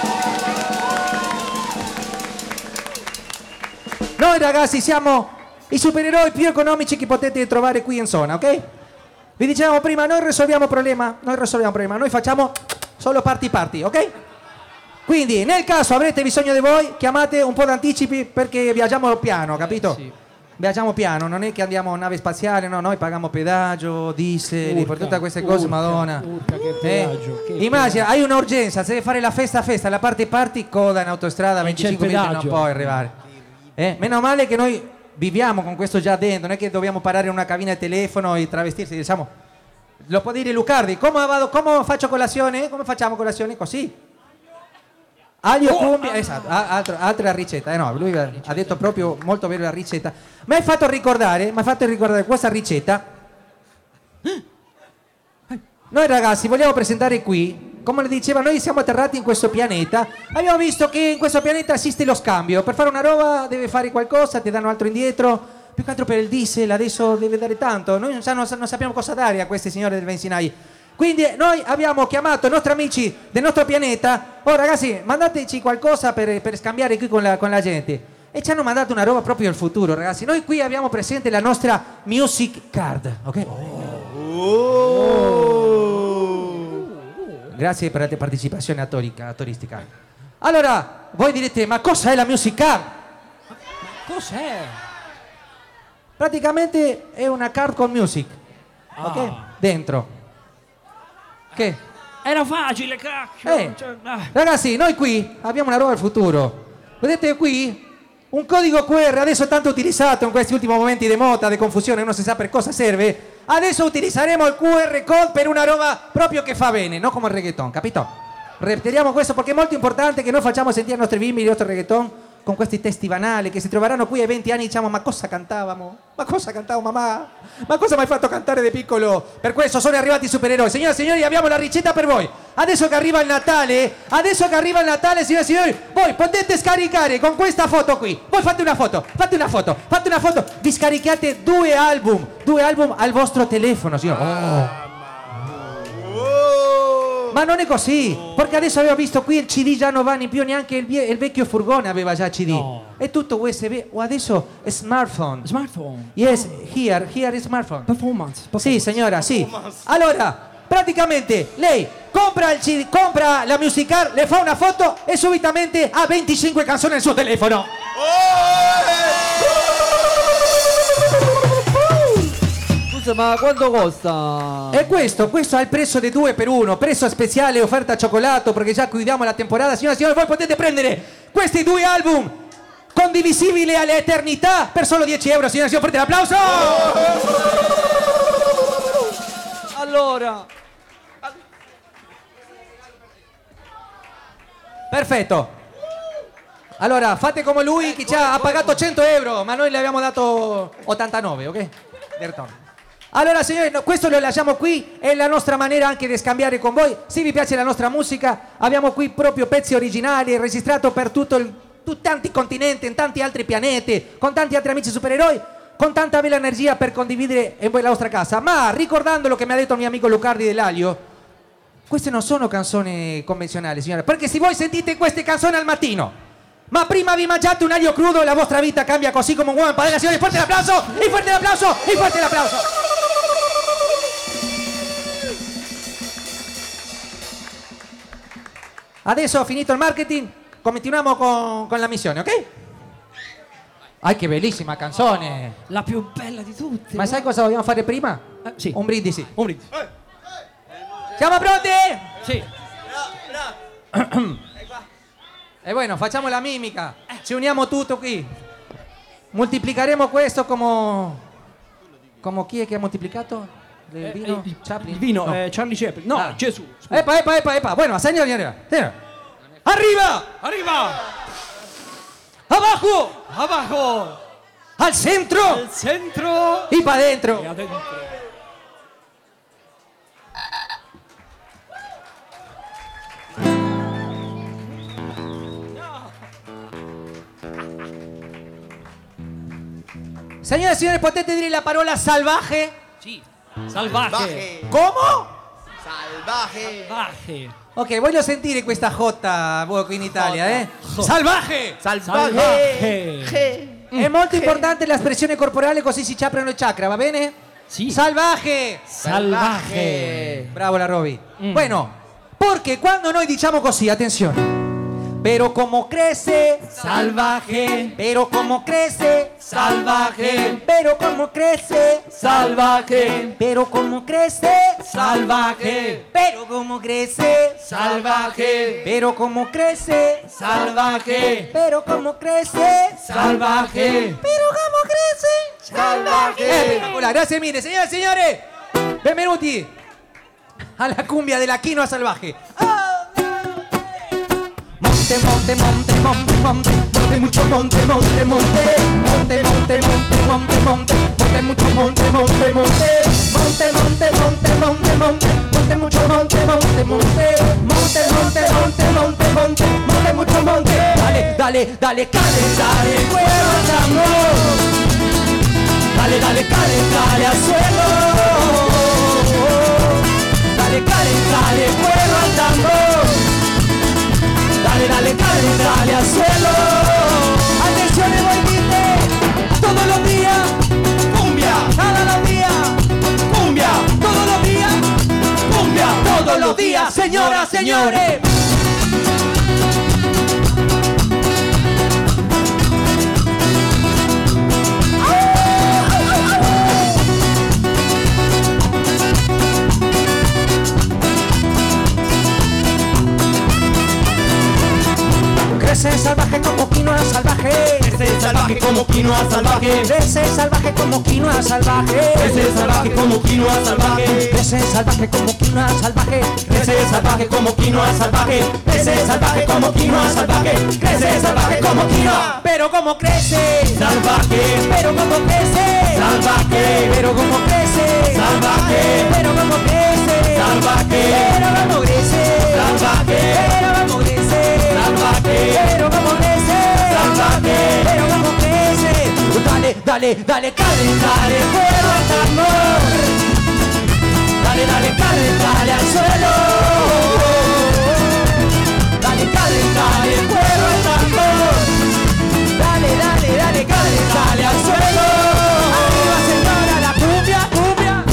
Noi ragazzi siamo i supereroi più economici che potete trovare qui in zona, ok? Vi dicevamo prima, noi risolviamo problema, noi facciamo solo party, ok? Quindi nel caso avrete bisogno di voi, chiamate un po' d'anticipi perché viaggiamo piano, capito? Sì. Viaggiamo piano, non è che andiamo in nave spaziale, no, noi paghiamo pedaggio, diesel, per tutte queste cose, madonna. Che pedaggio, immagina, hai un'urgenza, se devi fare la festa, la party, coda in autostrada, 25 minuti non puoi arrivare. Meno male che noi viviamo con questo già dentro, non è che dobbiamo parare in una cabina di telefono e travestirsi, diciamo. Lo può dire Lucardi, come faccio colazione? Come facciamo colazione? Così. Aglio, cumbia, esatto, altra ricetta. No, lui ha detto proprio molto bene la ricetta. Mi hai fatto ricordare questa ricetta. Noi ragazzi vogliamo presentare qui, come le diceva, noi siamo atterrati in questo pianeta, abbiamo visto che in questo pianeta esiste lo scambio, per fare una roba deve fare qualcosa, ti danno altro indietro, più che altro per il diesel adesso deve dare tanto, noi non sappiamo cosa dare a questi signori del benzinai. Quindi noi abbiamo chiamato i nostri amici del nostro pianeta, oh ragazzi mandateci qualcosa per scambiare qui con la gente. E ci hanno mandato una roba proprio del futuro, ragazzi. Noi qui abbiamo presente la nostra music card, ok? Grazie per la partecipazione attoristica. Allora, voi direte, ma cosa è la music card? Cos'è? Praticamente è una card con music, ok? Dentro. Che? Era facile, cacchio. Ragazzi, noi qui abbiamo una roba del futuro. Vedete qui? Un codice QR adesso tanto utilizzato in questi ultimi momenti di moda, di confusione, uno si sa per cosa serve. Adesso utilizzeremo il QR code per una roba proprio che fa bene, non come il reggaeton, capito? Repetiamo questo perché è molto importante che noi facciamo sentire ai nostri bimbi il nostro reggaeton con questi testi banali che si troveranno qui ai 20 anni e diciamo ma cosa cantavamo? Ma cosa cantavo mamma? Ma cosa mi hai fatto cantare da piccolo? Per questo sono arrivati i supereroi. Signore e signori, abbiamo la ricetta per voi. Adesso che arriva il Natale, signore e signori, voi potete scaricare con questa foto qui. Voi fate una foto, vi scaricate due album al vostro telefono, signore. Ma non è così, perché adesso avevo visto qui il CD già non va in più, neanche il vecchio furgone aveva già CD. No. È tutto USB, o adesso è smartphone. Smartphone? Yes, here is smartphone. Performance. Sì, signora, sì. Allora, praticamente lei compra il CD, compra la music card, le fa una foto e subitamente ha 25 canzoni nel suo telefono. Ma quanto costa? E questo ha il prezzo di 2 per 1, prezzo speciale, offerta cioccolato, perché già chiudiamo la temporada. Signore e signori, voi potete prendere questi due album condivisibili all'eternità per solo 10 euro. Signore e signori, fate l'applauso! Allora, perfetto. Allora, fate come lui che ci ha pagato 100 euro, ma noi le abbiamo dato 89, ok? Allora signori, questo lo lasciamo qui, è la nostra maniera anche di scambiare con voi. Se vi piace la nostra musica, abbiamo qui proprio pezzi originali, registrato per tanti continenti, in tanti altri pianeti, con tanti altri amici supereroi, con tanta bella energia per condividere in voi la vostra casa. Ma ricordando lo che mi ha detto il mio amico Lucardi dell'Aglio, queste non sono canzoni convenzionali, signore, perché se voi sentite queste canzoni al mattino, ma prima vi mangiate un aglio crudo e la vostra vita cambia così come un uomo in padella. Signori, forte l'applauso, e forte l'applauso, e forte l'applauso. Adesso ho finito il marketing, continuiamo con la missione, ok? Che bellissima canzone! La più bella di tutte. Ma sai cosa vogliamo fare prima? Sì. Un brindisi. Un brindisi. Siamo pronti? Sì. E bueno, facciamo la mimica. Ci uniamo tutto qui. Moltiplicheremo questo come chi è che ha moltiplicato? Il vino? Chaplin? Il vino, No. Charlie Chaplin. No, Ah. Gesù. scusa. Epa. Bueno, señor. Arriba. Arriva! Abajo. Abajo! Al centro. Al centro! Y para E adentro. adentro. Señoras y señores, potete dire la parola salvaje? Sì. Salvaje. Salvaje. ¿Cómo? Salvaje. Salvaje. Ok, voglio sentire questa J voi qui in Italia, eh? J. Salvaje! Salvaje. È molto importante l'espressione corporale, così si aprono i chakra, va bene? Sì. Salvaje! Salvaje. Bravo la Roby. Bueno, porque cuando noi diciamo così, attenzione. Pero como crece, Salvaje. pero como crece, Salvaje. pero como crece, Salvaje. pero como crece, Salvaje. pero como crece, Salvaje. pero como crece, Salvaje. pero como crece, Salvaje. pero como crece. Salvaje. Hola, gracias mille, señoras e signori. Benvenuti alla cumbia della quinoa salvaje. Monte, mucho monte, monte, mucho monte, mucho monte. Dale, calentale el cuero al tambor. Dale, calentale al suelo. Dale, calentale el cuero al tambor. Dale, calentale al suelo. Atención, volviste. Todos los días, cumbia. Cada los días, cumbia. Todos los días, cumbia. Todos los días, señoras, señores. Crece salvaje como quinoa salvaje. Crece salvaje como quinoa salvaje. Crece salvaje como quinoa salvaje. Crece salvaje como quinoa salvaje. Crece salvaje como quinoa salvaje. Crece salvaje como quinoa salvaje. Crece salvaje como quinoa salvaje. Crece salvaje como quinoa. Pero como crece, Salvaje. pero como crece, Salvaje. pero como crece, Salvaje. pero como crece, Salvaje. pero como crece, Salvaje. pero como crece, Salvaje. pero como crece, Salvaje. pero como crece. Dale, calentale el fuego al tambor. Dale, calentale al suelo. Dale, calentale el fuego al tambor. Dale, calentale al suelo. Arriba, señora, la cumbia, cumbia.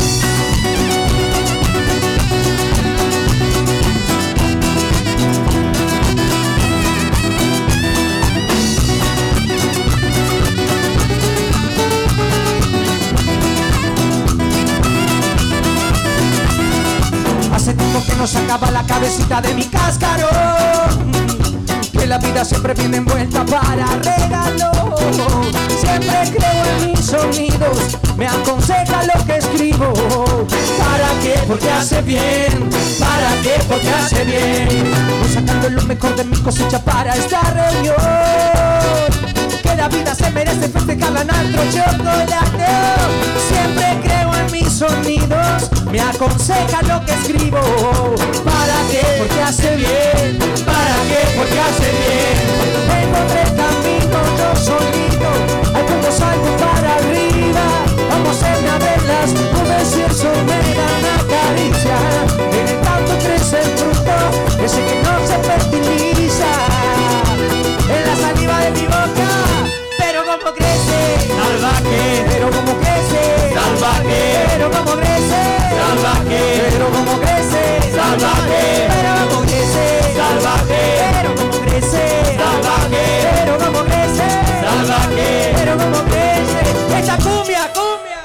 Hace tiempo que no sacaba la cabecita de mi cascarón. Que la vida siempre viene envuelta para regalo. Siempre creo en mis sonidos, me aconseja lo que escribo. ¿Para qué? Porque hace bien. ¿Para qué? Porque hace bien. Voy sacando lo mejor de mi cosecha para esta reunión. Que la vida se merece festejarla en alto chocolate. Siempre creo en mis sonidos, me aconseja lo que escribo. ¿Para qué? Porque hace bien. ¿Para qué? Porque hace bien. Encontré el camino, yo solito. Hay como salto para arriba. Vamos a ver las nubes y eso me da una caricia. En el canto crece el fruto, ese que no se fertiliza. En la saliva de mi boca, pero como crece. Salvaje. Pero como crece. Salvaje. Pero como crece. Salvaje. Pero como crece. Salvaje. Pero como crece. Salvaje. Pero como crece. Salvaje. Pero como crece. Salvaje. Pero como crece. Esta cumbia, cumbia.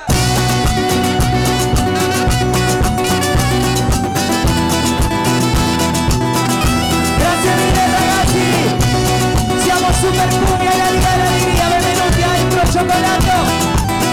Grazie mille ragazzi. Siamo super cumbia e la Liga dell'Allegria, benvenuti a Impro Cioccolato.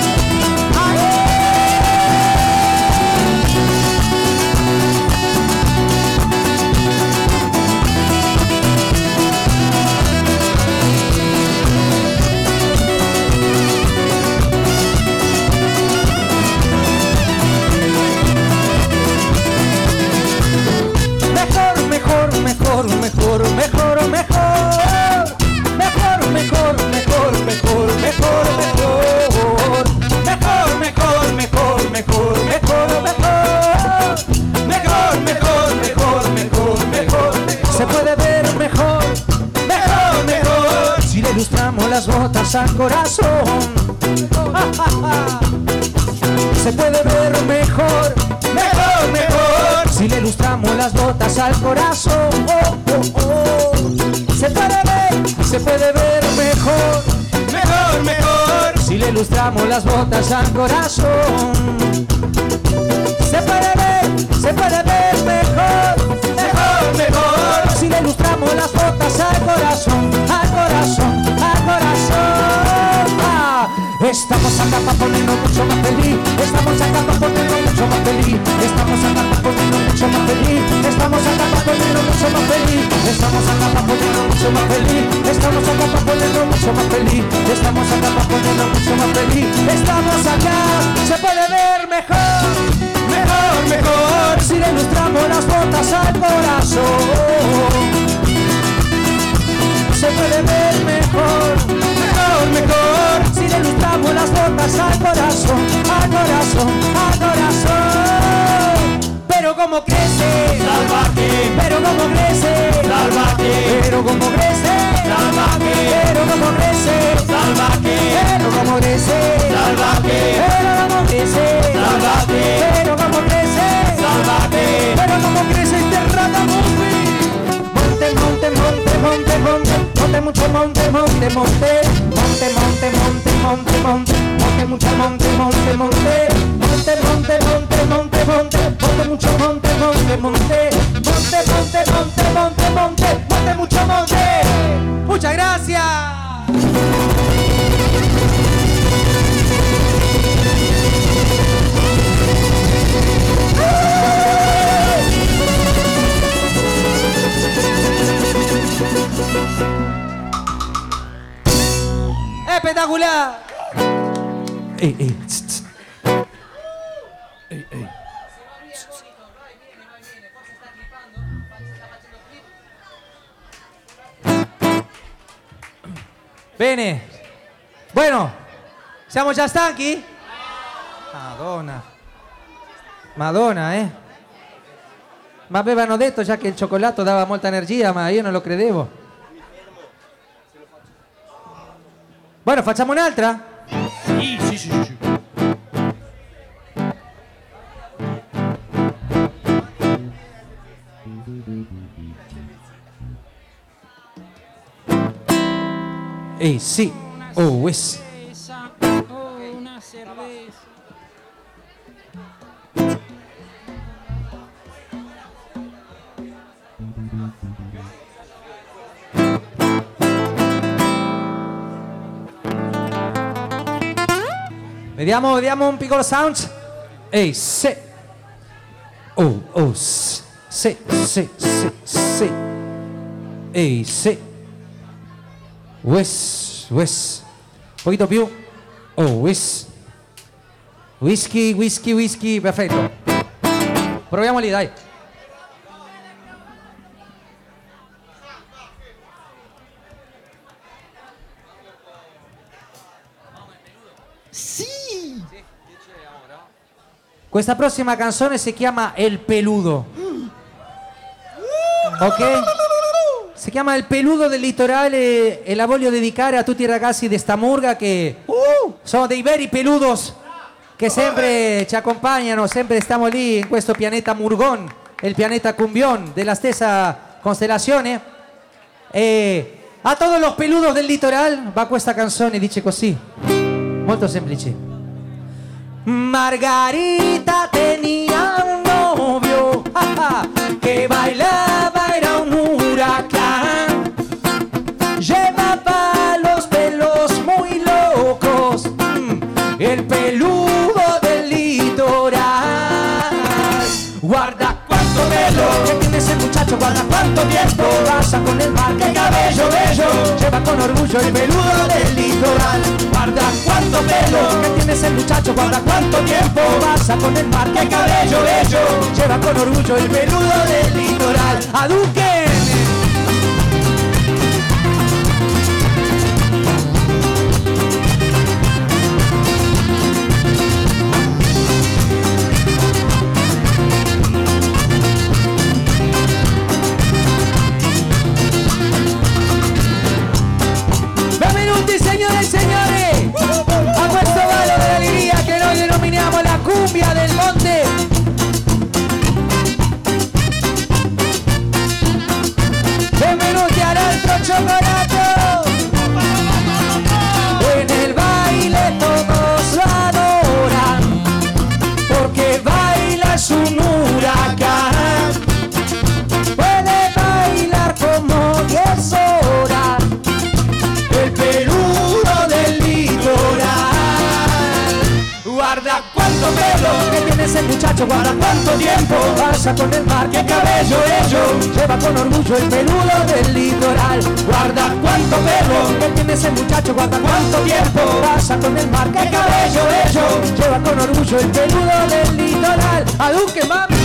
Se puede ver mejor, si le ilustramos las botas al corazón. Se puede ver mejor, si le ilustramos las botas al corazón. Se puede ver mejor, si le ilustramos las botas al corazón. Se puede ver mejor, si le ilustramos las botas al corazón, al corazón, al corazón. Estamos acá para ponernos mucho más feliz. Estamos acá para ponernos mucho más feliz. Estamos acá para ponernos mucho más feliz. Estamos acá para ponernos mucho más feliz. Estamos acá para ponernos mucho más feliz. Estamos acá para ponernos mucho más feliz. Estamos acá para ponernos mucho más feliz. Estamos acá, se puede ver mejor, si le ilustramos las botas al corazón. Se puede ver mejor, si le ilustramos las botas al corazón, al corazón, al corazón. Pero como crece, salvaje, pero como crece, salvaje, pero como crece, salvaje, pero como crece, salvaje, pero como crece, salvaje, pero como crece, salvaje, pero como crece, salvaje, pero como crece este ragamuffin. Monte, monte, monte, monte, monte, monte, mucho monte, monte, monte, monte, monte, monte, monte, monte, monte, mucho monte, monte, monte, monte, monte, monte, monte, monte, monte, mucho monte, monte, monte, monte, monte, monte, monte, monte, monte, mucho monte. Muchas gracias. ¡Espectacular! Ey. Bene. Bueno, siamo già stanchi? Madonna, Ma avevano detto già che il cioccolato dava molta energia, ma io non lo credevo. Bueno, facciamo un'altra? Sì. Ehi, sì. Oh, yes. Una cerveza. Vediamo un piccolo sound. Ehi, sì. Oh, sì. Ehi, sì. Wes. Un poquito più. Oh, whisky. Perfetto. Proviamo lì, dai. Questa prossima canzone si chiama El Peludo. Ok? Si chiama Il Peludo del Litorale e la voglio dedicare a tutti i ragazzi di sta murga che sono dei veri peludos che sempre ci accompagnano, sempre stiamo lì in questo pianeta Murgon, il pianeta Cumbion della stessa costellazione. E a todos los peludos del litoral va questa canzone, dice così, molto semplice. Margarita tenía un novio que bailaba, era un huracán, llevaba guarda cuánto tiempo pasa con el mar. ¡Qué cabello bello! Lleva con orgullo el peludo del litoral. Guarda cuánto pelo que tiene ese muchacho, guarda cuánto tiempo pasa con el mar. ¡Qué cabello bello! Lleva con orgullo el peludo del litoral. ¡Aduquen! Señores, señores, a questo ballo de alegría que noi denominiamo la cumbia del monte. Benvenuti al altro cioccolato. En el baile todos lo adoran, porque baila es un huracán. Puede bailar como 10 horas. El peludo del litoral. Guarda cuánto pelo que tiene ese muchacho, guarda cuánto tiempo pasa con el mar. ¡Qué cabello bello! Lleva con orgullo el peludo del litoral. Guarda cuánto pelo que tiene ese muchacho, guarda cuánto tiempo pasa con el mar. ¡Qué cabello bello! Lleva con orgullo el peludo del litoral. ¡Aduque, mami!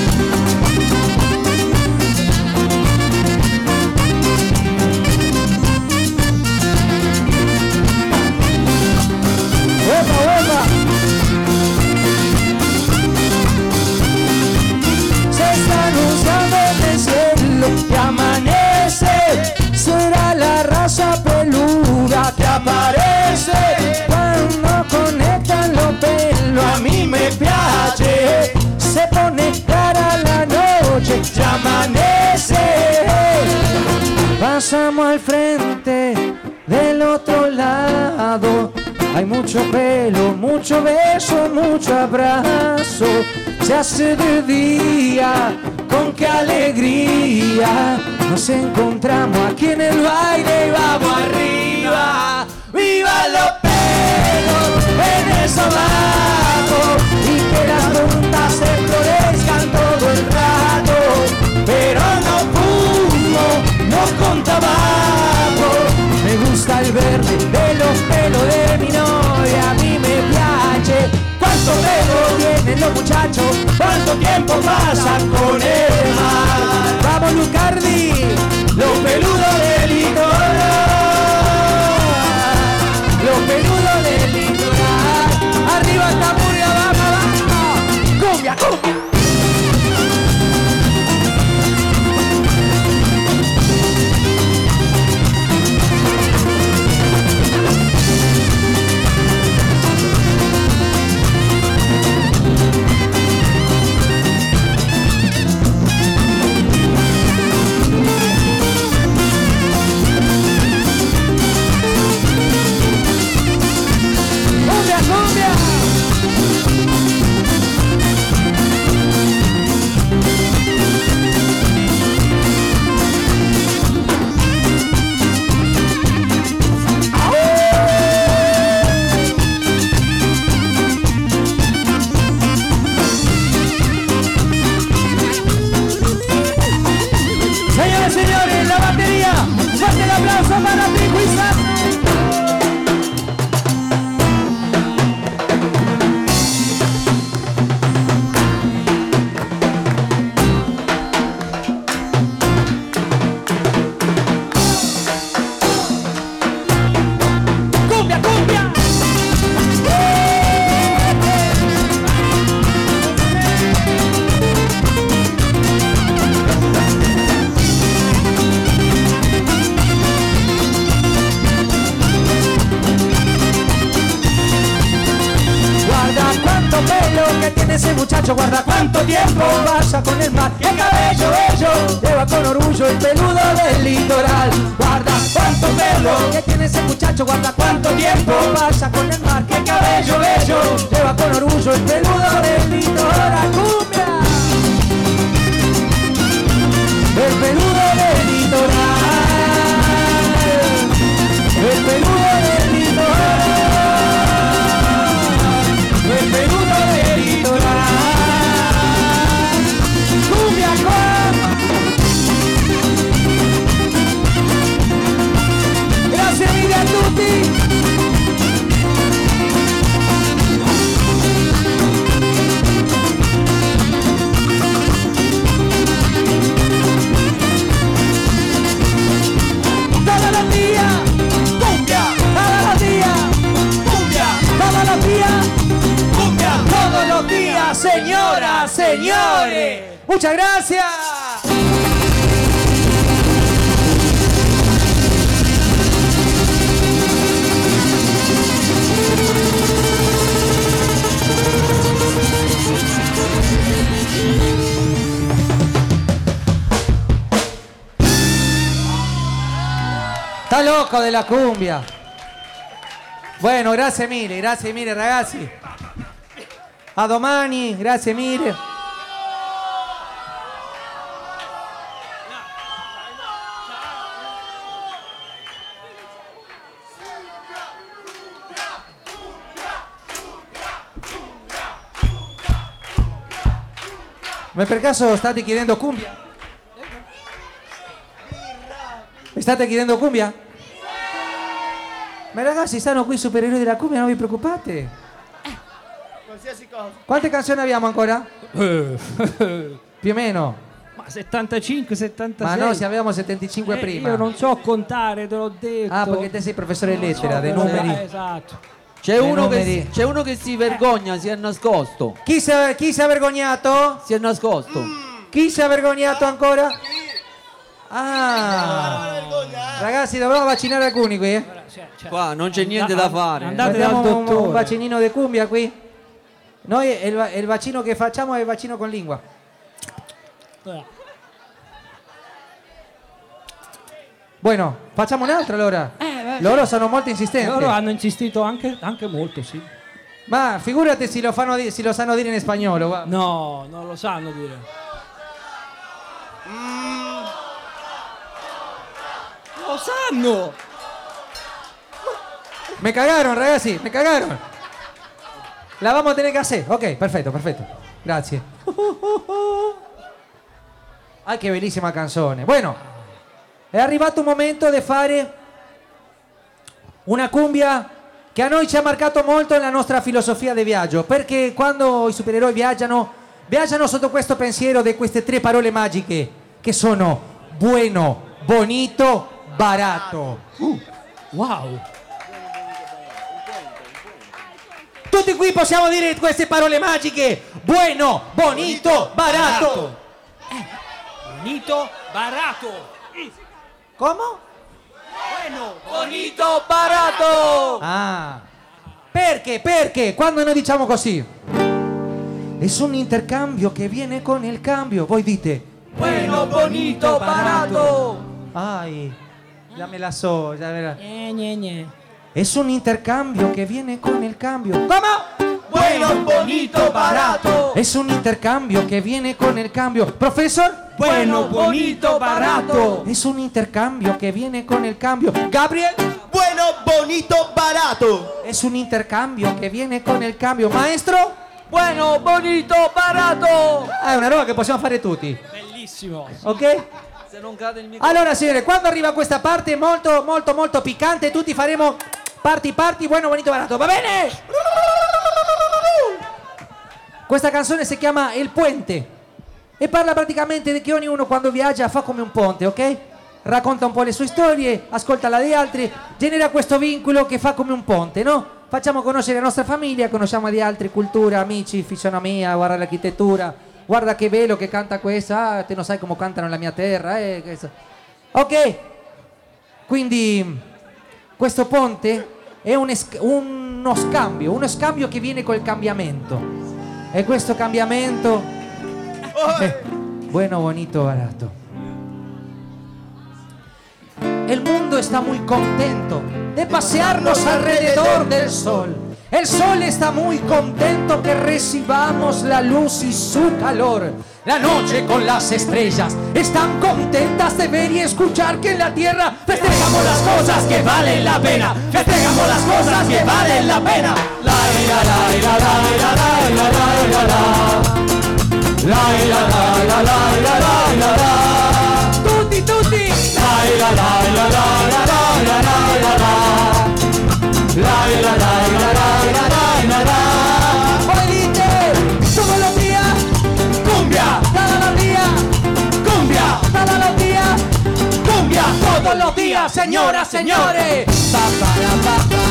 Se está anunciando en el cielo que amanece. Será la raza peluda que aparece cuando conectan los pelos. A mí me piace, se pone cara la noche, ya amanece. Pasamos al frente del otro lado. Hay mucho pelo, mucho beso, mucho abrazo. Se hace de día, con qué alegría. Nos encontramos aquí en el baile y vamos arriba. ¡Viva los pelos en el sobaco! Y que las puntas se florezcan todo el rato. Pero no fumo, no con tabaco. Me gusta el verde de los pelos de mi novia, a mí me piace. ¿Cuánto pelo tienen los muchachos? ¿Cuánto tiempo pasan con el mar? ¡Vamos, Lucardi! Los peludos del litoral. Los peludos del litoral. Arriba esta murga, abajo, abajo. ¡Cumbia, cumbia! Guarda cuánto tiempo pasa con el mar. ¡Qué cabello bello! Lleva con orgullo el peludo del litoral. Guarda cuánto pelo que tiene ese muchacho. Guarda cuánto tiempo pasa con el mar. ¡Qué cabello bello! Lleva con orgullo el peludo del litoral. ¡Cumbia! El peludo del litoral. El peludo del litoral. El peludo del litoral. ¡Cumbia, cumbia! señores. Muchas gracias. Está loco de la cumbia. Bueno, grazie mille ragazzi. A domani, grazie mille. Ma per caso state chiedendo cumbia? Mi state chiedendo cumbia? Ma ragazzi, stanno qui i supereroi della cumbia, non vi preoccupate. Qualsiasi cosa. Quante canzoni abbiamo ancora? Più o meno. Ma 75, 76. Ma no, se avevamo 75 prima. Io non so contare, te l'ho detto. Ah, perché te sei professore di lettera, dei numeri. Esatto. C'è uno che si vergogna, si è nascosto. Chi si è vergognato? Si è nascosto. Chi si è vergognato ancora? Ah, ragazzi, dovremmo vaccinare alcuni qui. Qua non c'è niente da fare. Andate dal Mettiamo un dottore. vaccinino di cumbia qui. Noi il vaccino che facciamo è il vaccino con lingua. Bueno, facciamo un altro allora. Loro sono molto insistenti. Loro hanno insistito anche molto, sì. Ma figurati se lo sanno dire in spagnolo. Guarda. No, non lo sanno dire. Lo sanno! Me cagaron, ragazzi, me cagaron. La vamos a tener que hacer. Ok, perfetto. Grazie. Ah, che bellissima canzone. Bueno, è arrivato un momento di fare una cumbia che a noi ci ha marcato molto nella nostra filosofia di viaggio, perché quando i supereroi viaggiano sotto questo pensiero di queste tre parole magiche che sono bueno, bonito, barato. Wow! Tutti qui possiamo dire queste parole magiche. Bueno, bonito, barato. Bonito, barato! ¿Cómo? Bueno, Bonito barato! Ah. Perché? Perché quando noi diciamo così es un intercambio che viene con il cambio. Voi dite Bueno, bonito barato! ay, ya me la so, ya me la... Gne. Es un intercambio que viene con el cambio. ¿Cómo? Bueno, bonito barato! Es un intercambio que viene con el cambio. Profesor. Bueno, bonito barato! Es un intercambio que viene con el cambio. Gabriel. Bueno, bonito, barato. Es un intercambio que viene con el cambio. Maestro. Bueno, bonito barato! È una roba che possiamo fare tutti. Bellissimo! Ok? Se non cade il microfono. Allora signore, quando arriva questa parte molto piccante, tutti faremo parti, bueno, bonito, barato. Va bene? Questa canzone si chiama Il Puente e parla praticamente di che ognuno quando viaggia fa come un ponte, ok? Racconta un po' le sue storie, ascolta la di altri, genera questo vincolo che fa come un ponte, no? Facciamo conoscere la nostra famiglia, conosciamo di altre culture, amici, fisionomia, guarda l'architettura, guarda che bello che canta questa, ah, te non sai come cantano nella mia terra, ok? Quindi questo ponte è uno scambio che viene col cambiamento. E questo cambiamento è bueno, bonito, barato. El mundo está muy contento de pasearnos alrededor del sol. El sol está muy contento que recibamos la luz y su calor. La noche con las estrellas están contentas de ver y escuchar que en la tierra festejamos las cosas que valen la pena. Festejamos las cosas que valen la pena. La la la la la la la la la la la la la la la. Tutti tutti. La la la la la la la la la. La la la la la la la. Poi dite todos los días cumbia, todos los días cumbia, todos los días cumbia, todos los días, señoras, señores. Pa para pa pa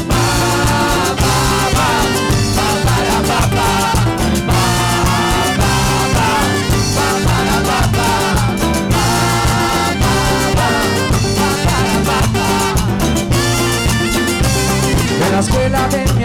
pa pa pa pa para pa pa pa pa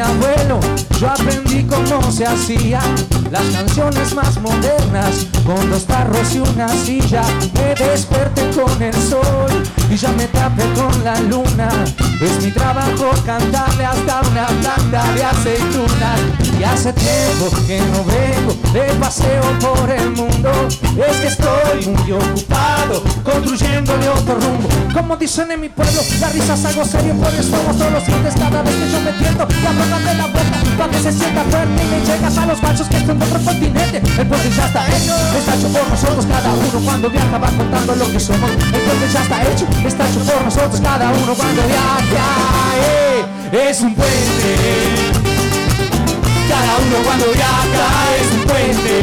abuelo, yo aprendí cómo se hacían las canciones más modernas, con 2 tarros y una silla. Me desperté con el sol y ya me tapé con la luna. Es mi trabajo cantarle hasta una planta de aceitunas. Y hace tiempo que no vengo de paseo por el mundo, es que estoy muy ocupado construyéndole otro rumbo. Como dicen en mi pueblo, las risas algo serio, por eso mostro los dientes cada vez que yo me tiento. Y afrontate la boca para que se sienta fuerte y me llegas a los machos que están de otro continente. El puente ya está hecho, está hecho por nosotros. Cada uno cuando viaja va contando lo que somos. El puente ya está hecho, está hecho por nosotros. Cada uno cuando viaja, es un puente. Cada uno cuando viaja es un puente.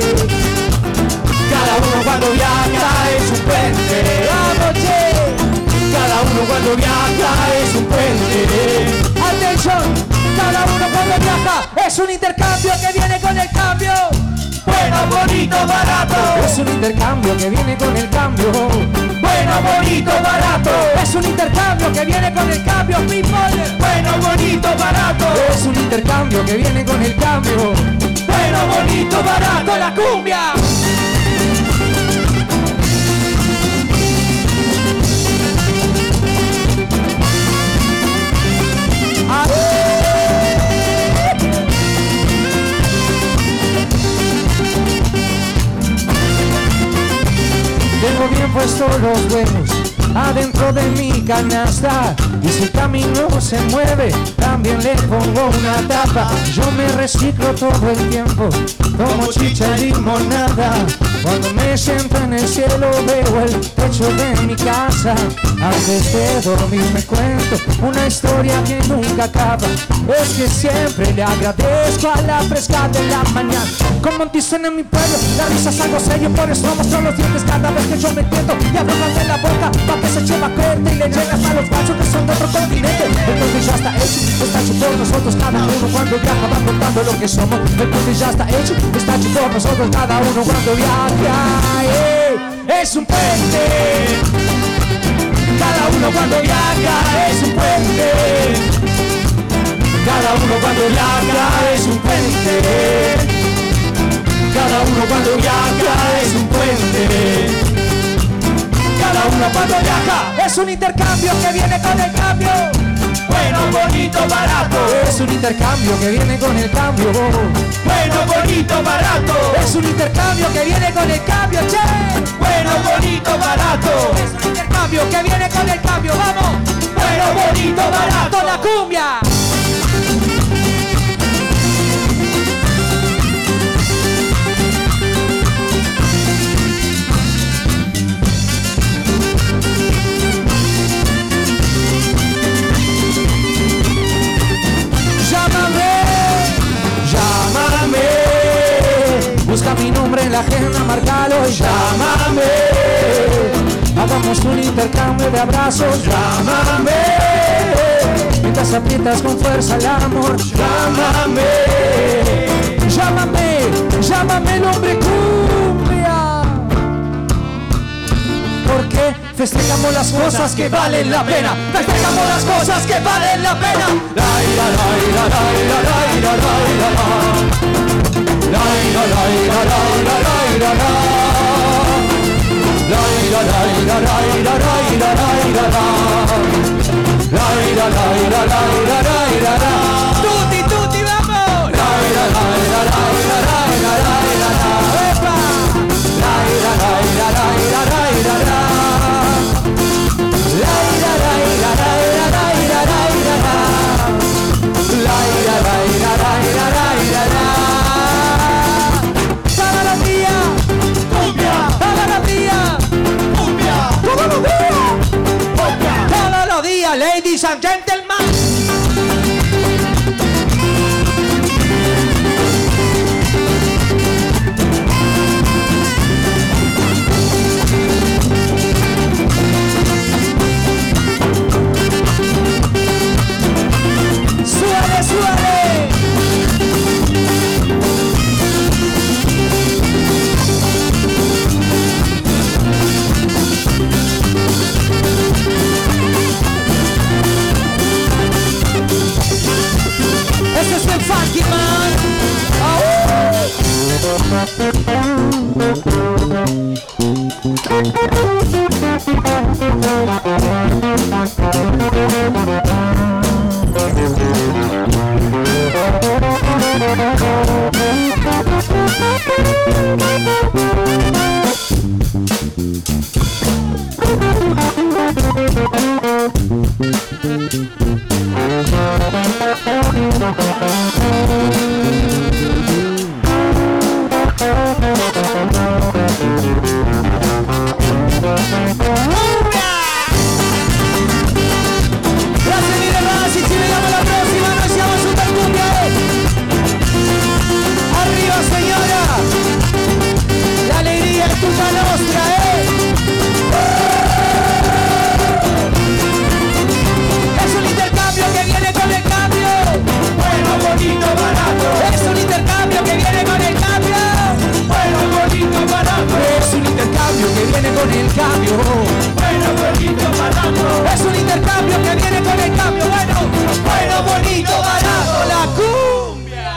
Cada uno cuando viaja es un puente. ¡Vamos, che! Cada uno cuando viaja es un puente. ¡Atención! Cada uno cuando viaja es un intercambio que viene con el cambio. Bueno, bonito, barato. Es un intercambio que viene con el cambio. Bueno, bonito, barato. Es un intercambio que viene con el cambio, people. Bueno, bonito, barato. Es un intercambio que viene con el cambio. Bueno, bonito, barato. La cumbia. Tengo bien puestos los huevos adentro de mi canasta, y si el camino se mueve también le pongo una tapa. Yo me reciclo todo el tiempo, tomo chicha y limonada. Cuando me siento en el cielo veo el techo de mi casa. Antes de dormir me cuento una historia que nunca acaba. Es que siempre le agradezco a la fresca de la mañana. Como dicen en mi pueblo, la risa es algo serio, por eso muestro los dientes cada vez que yo me tiento. Y abro de la boca para que se lleva corte y le llegas a los machos que son de otro continente. El puente ya está hecho por nosotros. Cada uno cuando viaja va contando lo que somos. El puente ya está hecho por nosotros. Cada uno cuando viaja, es un puente. Cada uno cuando viaja es un puente. Cada uno cuando viaja es un puente. Cada uno cuando viaja es un puente. Cada uno cuando viaja es un intercambio que viene con el cambio. Bueno, bonito, barato. Es un intercambio que viene con el cambio. Bueno, bonito, barato. Es un intercambio que viene con el cambio, che. Bueno, bonito, barato. Es un intercambio que viene con el cambio, vamos. Bueno, bonito, barato. La cumbia. Busca mi nombre en la agenda, márcalo y llámame. Hagamos un intercambio de abrazos, llámame. Mientras aprietas con fuerza el amor, llámame. Llámame, llámame el hombre cumbia. Porque festejamos las cosas que valen la pena. Festejamos las cosas que valen la pena. Tutti, tutti, vamos. Todos los días, ladies and gentlemen. Funky man. Grazie mille ragazzi, ci vediamo alla prossima, noi siamo Super Cumbia. Arriva signora, l'allegria è tutta nostra, Es un intercambio que viene con el cambio. Bueno, bonito, barato. Es un intercambio que viene con el cambio. Bueno, bonito, barato. Es un intercambio que viene con el cambio. Bueno, bonito, barato. Es un intercambio que viene con el cambio. Bueno, bonito, barato. La cumbia.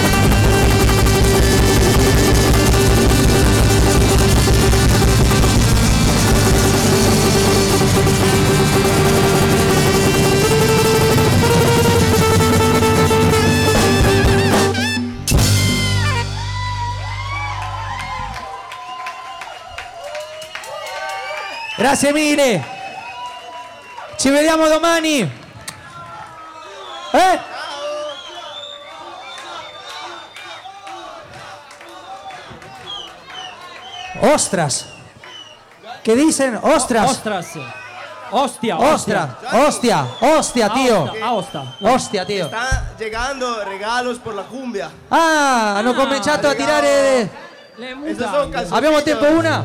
Grazie mille. Ci vediamo domani. Ostras. ¿Qué dicen? Ostras. Ostras. Hostia. Hostia, tío. Aosta. Hostia, tío. Están llegando regalos por la cumbia. Ah, hanno cominciato a tirare. Le Esas son mutande. canciones. Abbiamo tempo una?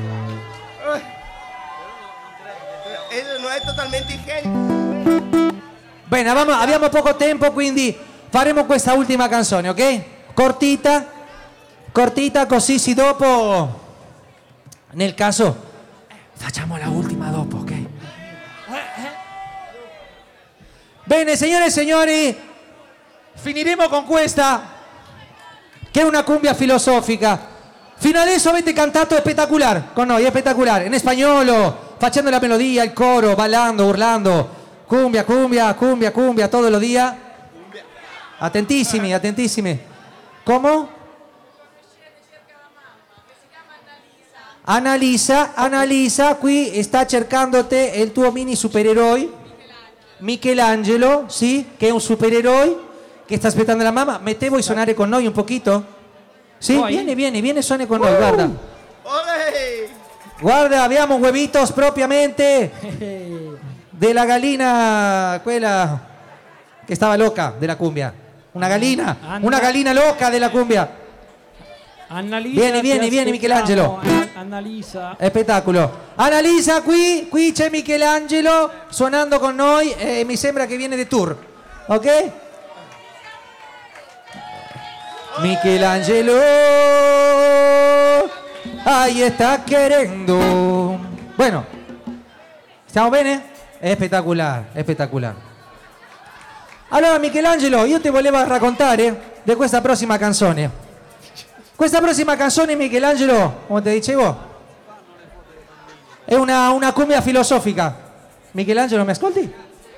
Eso no es totalmente higiénico. Bene, abbiamo poco tempo, quindi faremo questa ultima canzone, ok? Cortita, così sì dopo, nel caso, facciamo la ultima dopo, ok? Bene, signore e signori, finiremo con questa, che è una cumbia filosofica. Fino adesso avete cantato spettacolare con noi, è spettacolare, in spagnolo, facendo la melodia, il coro, ballando, urlando, cumbia, todos los días. Attentissimi. Come? Annalisa, qui sta cercando te il tuo mini supereroe. Michelangelo, sì, che è un supereroe che sta aspettando la mamma. Mette vuoi suonare con noi un pochito? Sì, Poi? vieni, suoni con noi, guarda. ¡Ole! Guarda, abbiamo huevitos propiamente della gallina, quella che stava loca della cumbia. Una gallina loca della cumbia. Annalisa, Vieni, Michelangelo. Annalisa. Spettacolo. Annalisa, qui c'è Michelangelo suonando con noi e mi sembra che viene di tour, ok? Michelangelo, ahí está queriendo. Bueno, ¿stiamo bene? È spettacolare. Allora Michelangelo, io ti volevo raccontare di questa prossima canzone. Questa prossima canzone, Michelangelo, come ti dicevo, è una cumbia filosofica. Michelangelo, mi ascolti?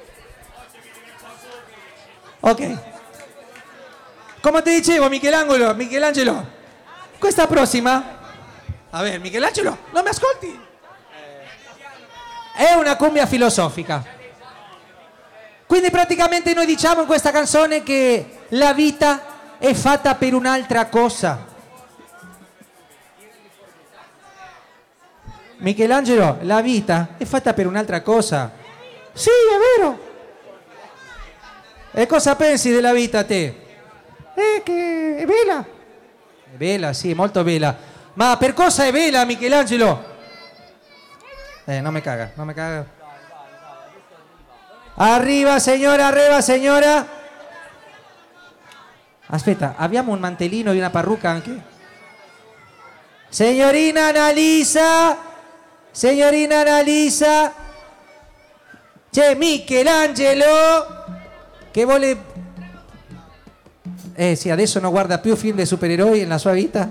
Ok. Come ti dicevo, Michelangelo, questa prossima... A ver, Michelangelo, non mi ascolti? È una cumbia filosofica. Quindi praticamente noi diciamo in questa canzone che la vita è fatta per un'altra cosa. Michelangelo, la vita è fatta per un'altra cosa. Sì, è vero. E cosa pensi della vita te? Che è bella. È bella, sì, molto bella. Ma per cosa è bella, Michelangelo? Non mi caga. Arriva, signora. Aspetta, abbiamo un mantellino e una parrucca anche? Signorina Annalisa, c'è Michelangelo che vuole Sì, adesso non guarda più film di supereroi nella sua vita.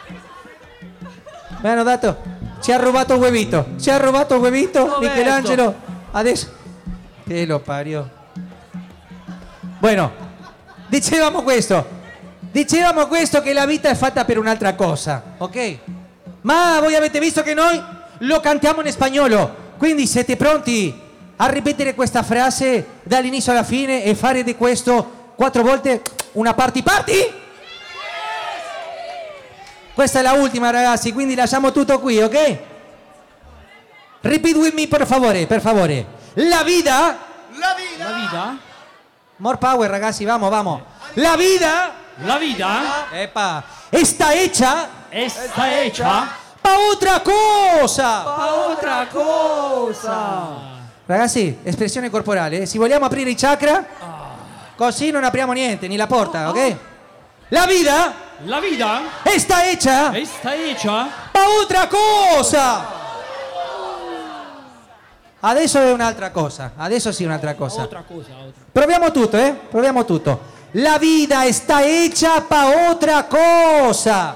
Mi hanno dato, ci ha rubato un huevito, Michelangelo, adesso, che lo parió. Bueno, dicevamo questo che la vita è fatta per un'altra cosa, ok? Ma voi avete visto che noi lo cantiamo in spagnolo, quindi siete pronti a ripetere questa frase dall'inizio alla fine e fare di questo 4 volte una party? Questa è la ultima, ragazzi, quindi lasciamo tutto qui, ok? Repeat with me, per favore. La vida. More power, ragazzi, vamos. La vida. Epa. Está hecha. Pa' otra cosa. Ragazzi, espressione corporale. Se vogliamo aprire i chakra, così non apriamo niente, ni la porta, ok? La vida está hecha pa' otra cosa. Adesso è un'altra cosa. Adesso sì, un'altra cosa. Proviamo tutto. La vida está hecha pa' otra cosa.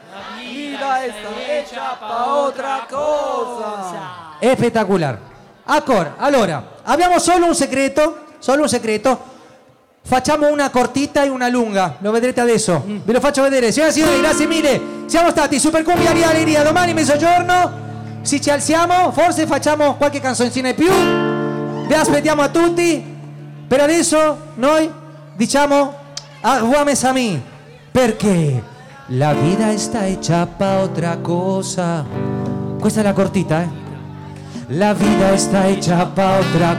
È spettacolare. Allora, abbiamo solo un segreto. Facciamo una cortita e una lunga, lo vedrete adesso. Ve lo faccio vedere. Signore e signori, grazie mille. Siamo stati Super Cumbia di Alegria. Domani mezzogiorno, se ci alziamo, forse facciamo qualche canzoncina in più. Vi aspettiamo a tutti. Per adesso noi diciamo aguame Sami, perché la vida está hecha pa' otra cosa. Questa è la cortita, eh? La vida está hecha pa' otra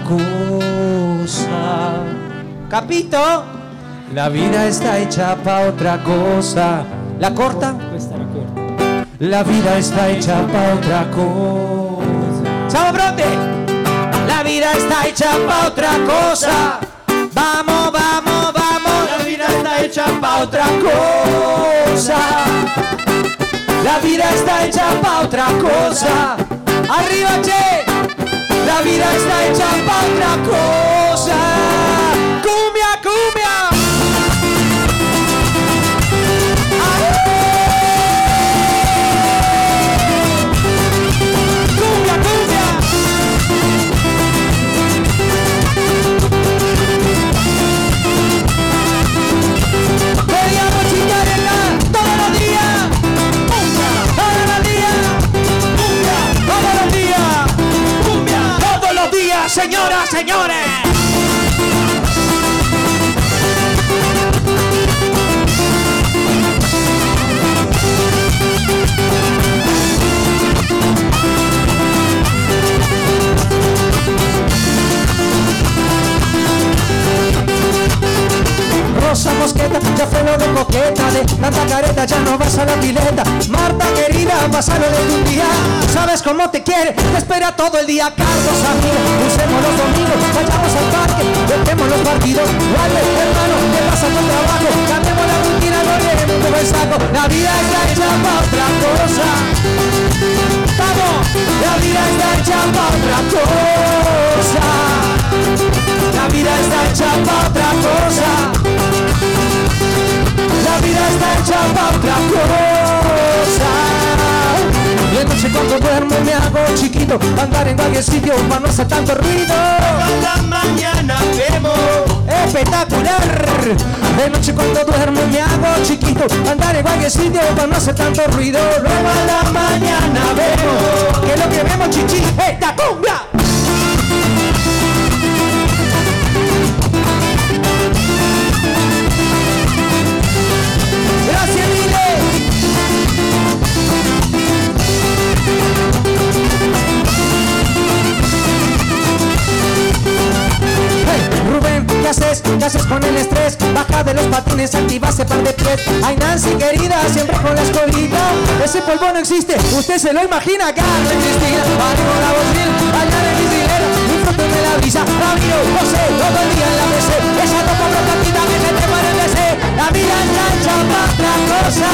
cosa. Capito? La vida está hecha pa' otra cosa. La corta? Questa è la corta. La vida está hecha pa' otra cosa. Siamo pronti? La vida está hecha pa' otra cosa. Vamos. La vida está hecha pa' otra cosa. La vida está hecha pa' otra cosa. Arriba, che. La vida está hecha pa' otra cosa. Cumbia. Vogliamo ciccarella todos los días. Todos los días, señoras, señores. Rosa Mosqueta, ya fue lo de coqueta, de tanta careta ya no vas a la pileta. Marta querida, pásalo de un día, sabes cómo te quiere, te espera todo el día. Carlos amigos, usemos los domingos, vayamos al parque, dejemos los partidos. Vale, hermano, ¿qué pasa con trabajo? Cambiemos la rutina, no olvidemos como el saco. La vida está hecha pa' otra cosa. Vamos, la vida está hecha pa' otra cosa. La vida está hecha pa' otra cosa. La vida está hecha pa' otra cosa. Y de noche cuando duermo me hago chiquito, andar en cualquier sitio para no hacer tanto ruido. A la mañana vemos. Espectacular. De noche cuando duermo me hago chiquito, andar en cualquier sitio para no hacer tanto ruido. Luego a la mañana vemos, que lo que vemos, chichi, esta cumbia. Gracias, Mile. Hey, Rubén, ¿qué haces? ¿Qué haces con el estrés? Baja de los patines, activa ese par de pies. Ay, Nancy, querida, siempre con la escolita. Ese polvo no existe, usted se lo imagina. Carmen Cristina, ánimo la bocina, allá de mis dineros, disfruten de la brisa. Ramiro, José, todo el día en la PC. Esa ropa protectiva que se te para el DC. La vida está hecha pa' otra cosa.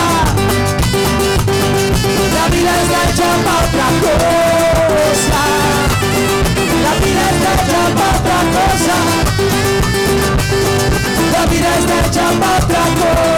La vida está hecha pa' otra cosa. La vida está hecha pa' otra cosa. La vida está hecha pa' otra cosa.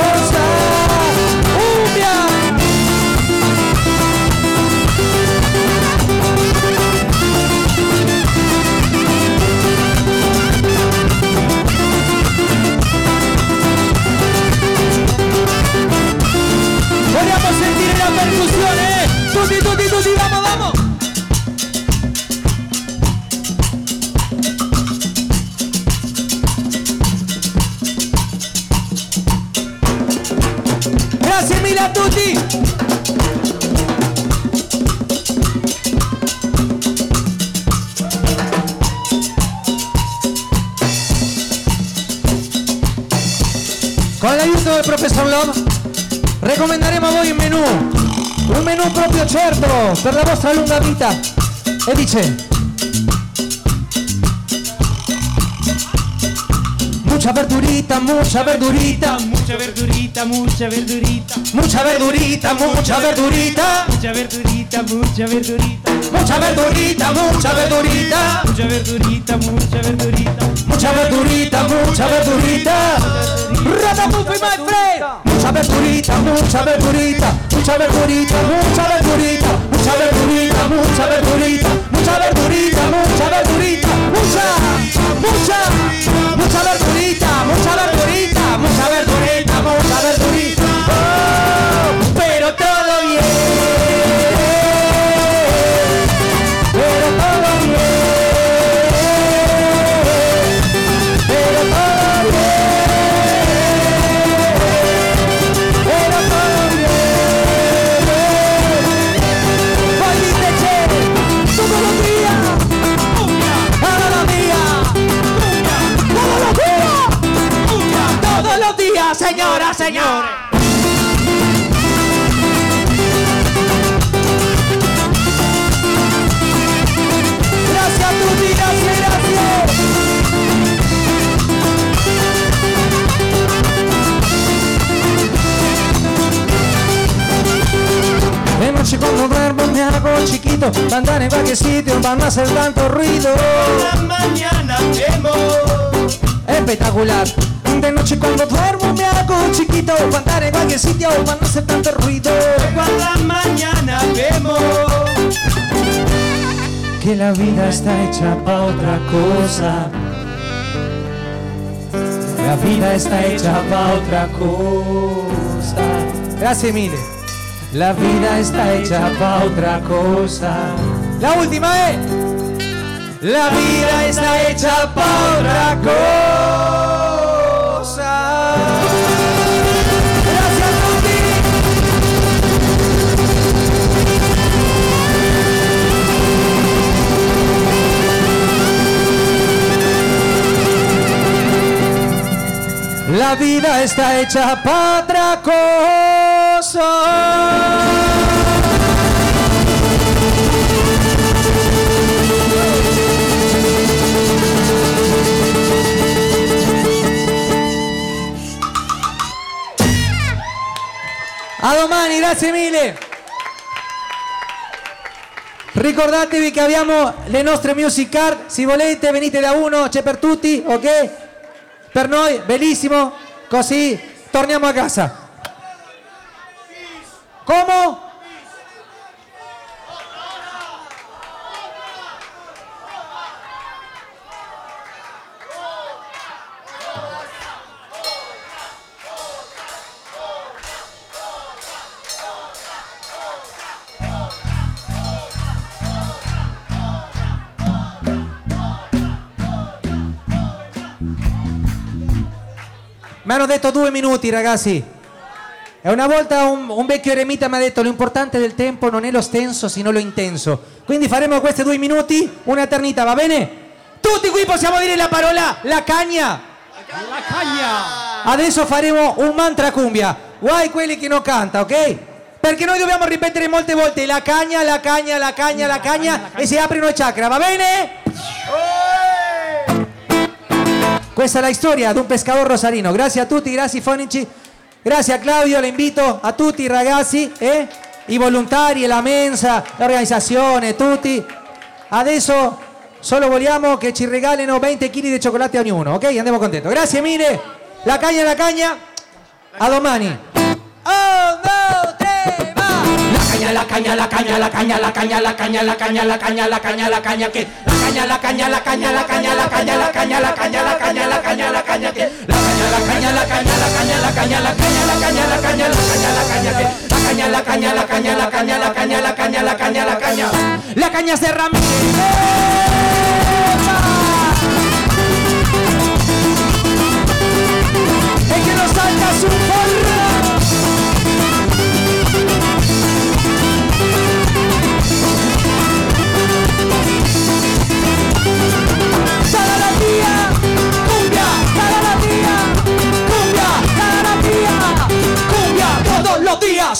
Grazie mille a tutti. Con l'aiuto del professor Love raccomanderemo a voi un menù proprio certo per la vostra lunga vita. E dice: mucha verdurita, mucha verdurita, Mucha verdurita, mucha verdurita, mucha verdurita, mucha verdurita, mucha verdurita, mucha verdurita, mucha verdurita, mucha verdurita, mucha verdurita, mucha verdurita, mucha verdurita, mucha verdurita. Ratapuffy, my friend. Mucha verdurita, mucha verdurita, mucha verdurita, mucha verdurita, mucha verdurita, mucha verdurita, mucha verdurita, mucha verdurita, mucha verdurita, mucha verdurita, mucha verdurita, mucha verdurita. Oh, pero todo bien, pero todo bien, pero todo bien. Poi dite c'è todos los días, cada día, todos los días, señoras, señores. Gracias a tutti, gracias, gracias. De noche cuando duermo me hago chiquito, para andar en cualquier sitio, para no hacer tanto ruido. la mañana vemos. Espectacular. De noche cuando duermo me hago chiquito, para andar en cualquier sitio, para no hacer tanto ruido. Por la mañana vemos. Que la vida está hecha pa' otra cosa. La vida está hecha pa' otra cosa. Gracias mille. La vida está hecha pa' otra cosa. La última es: la vida está hecha pa' otra cosa. Gracias a tutti. La vida está hecha pa' otra cosa. A domani, grazie mille. Ricordatevi che abbiamo le nostre music card, se volete venite da uno, c'è per tutti, ok? Per noi, bellissimo, così torniamo a casa. Come? Mi hanno detto 2 minuti, ragazzi. E una volta un vecchio eremita mi ha detto: l'importante del tempo non è lo stenso, sino lo intenso. Quindi faremo questi 2 minuti un'eternità, va bene? Tutti qui possiamo dire la parola la cagna. La cagna. Adesso faremo un mantra cumbia. Guai quelli che non canta, ok? Perché noi dobbiamo ripetere molte volte la cagna, la cagna, la cagna, la cagna, e si aprono i chakra, va bene? Questa è la storia di un pescador rosarino. Grazie a tutti, grazie fonici, grazie a Claudio, le invito a tutti i ragazzi, i volontari, la mensa, l'organizzazione, tutti. Adesso solo vogliamo che ci regalino 20 kg di cioccolate a ognuno, ok? Andiamo contento. Grazie mille. La cagna, la cagna. A domani. 1, 2, 3, va! La caña, la caña, la caña, la caña, la caña, la caña, la caña, la caña, la caña, que la caña, la caña, la caña, la caña, la caña, la caña, la caña, la caña, la caña, la caña, que la caña, la caña, la caña, la caña, la caña, la caña, la caña, la caña, la caña, la caña, que la caña, la caña, la caña, la caña, la caña, la caña, la caña, la caña, la caña de Ramírez. Es que nos salta su forra.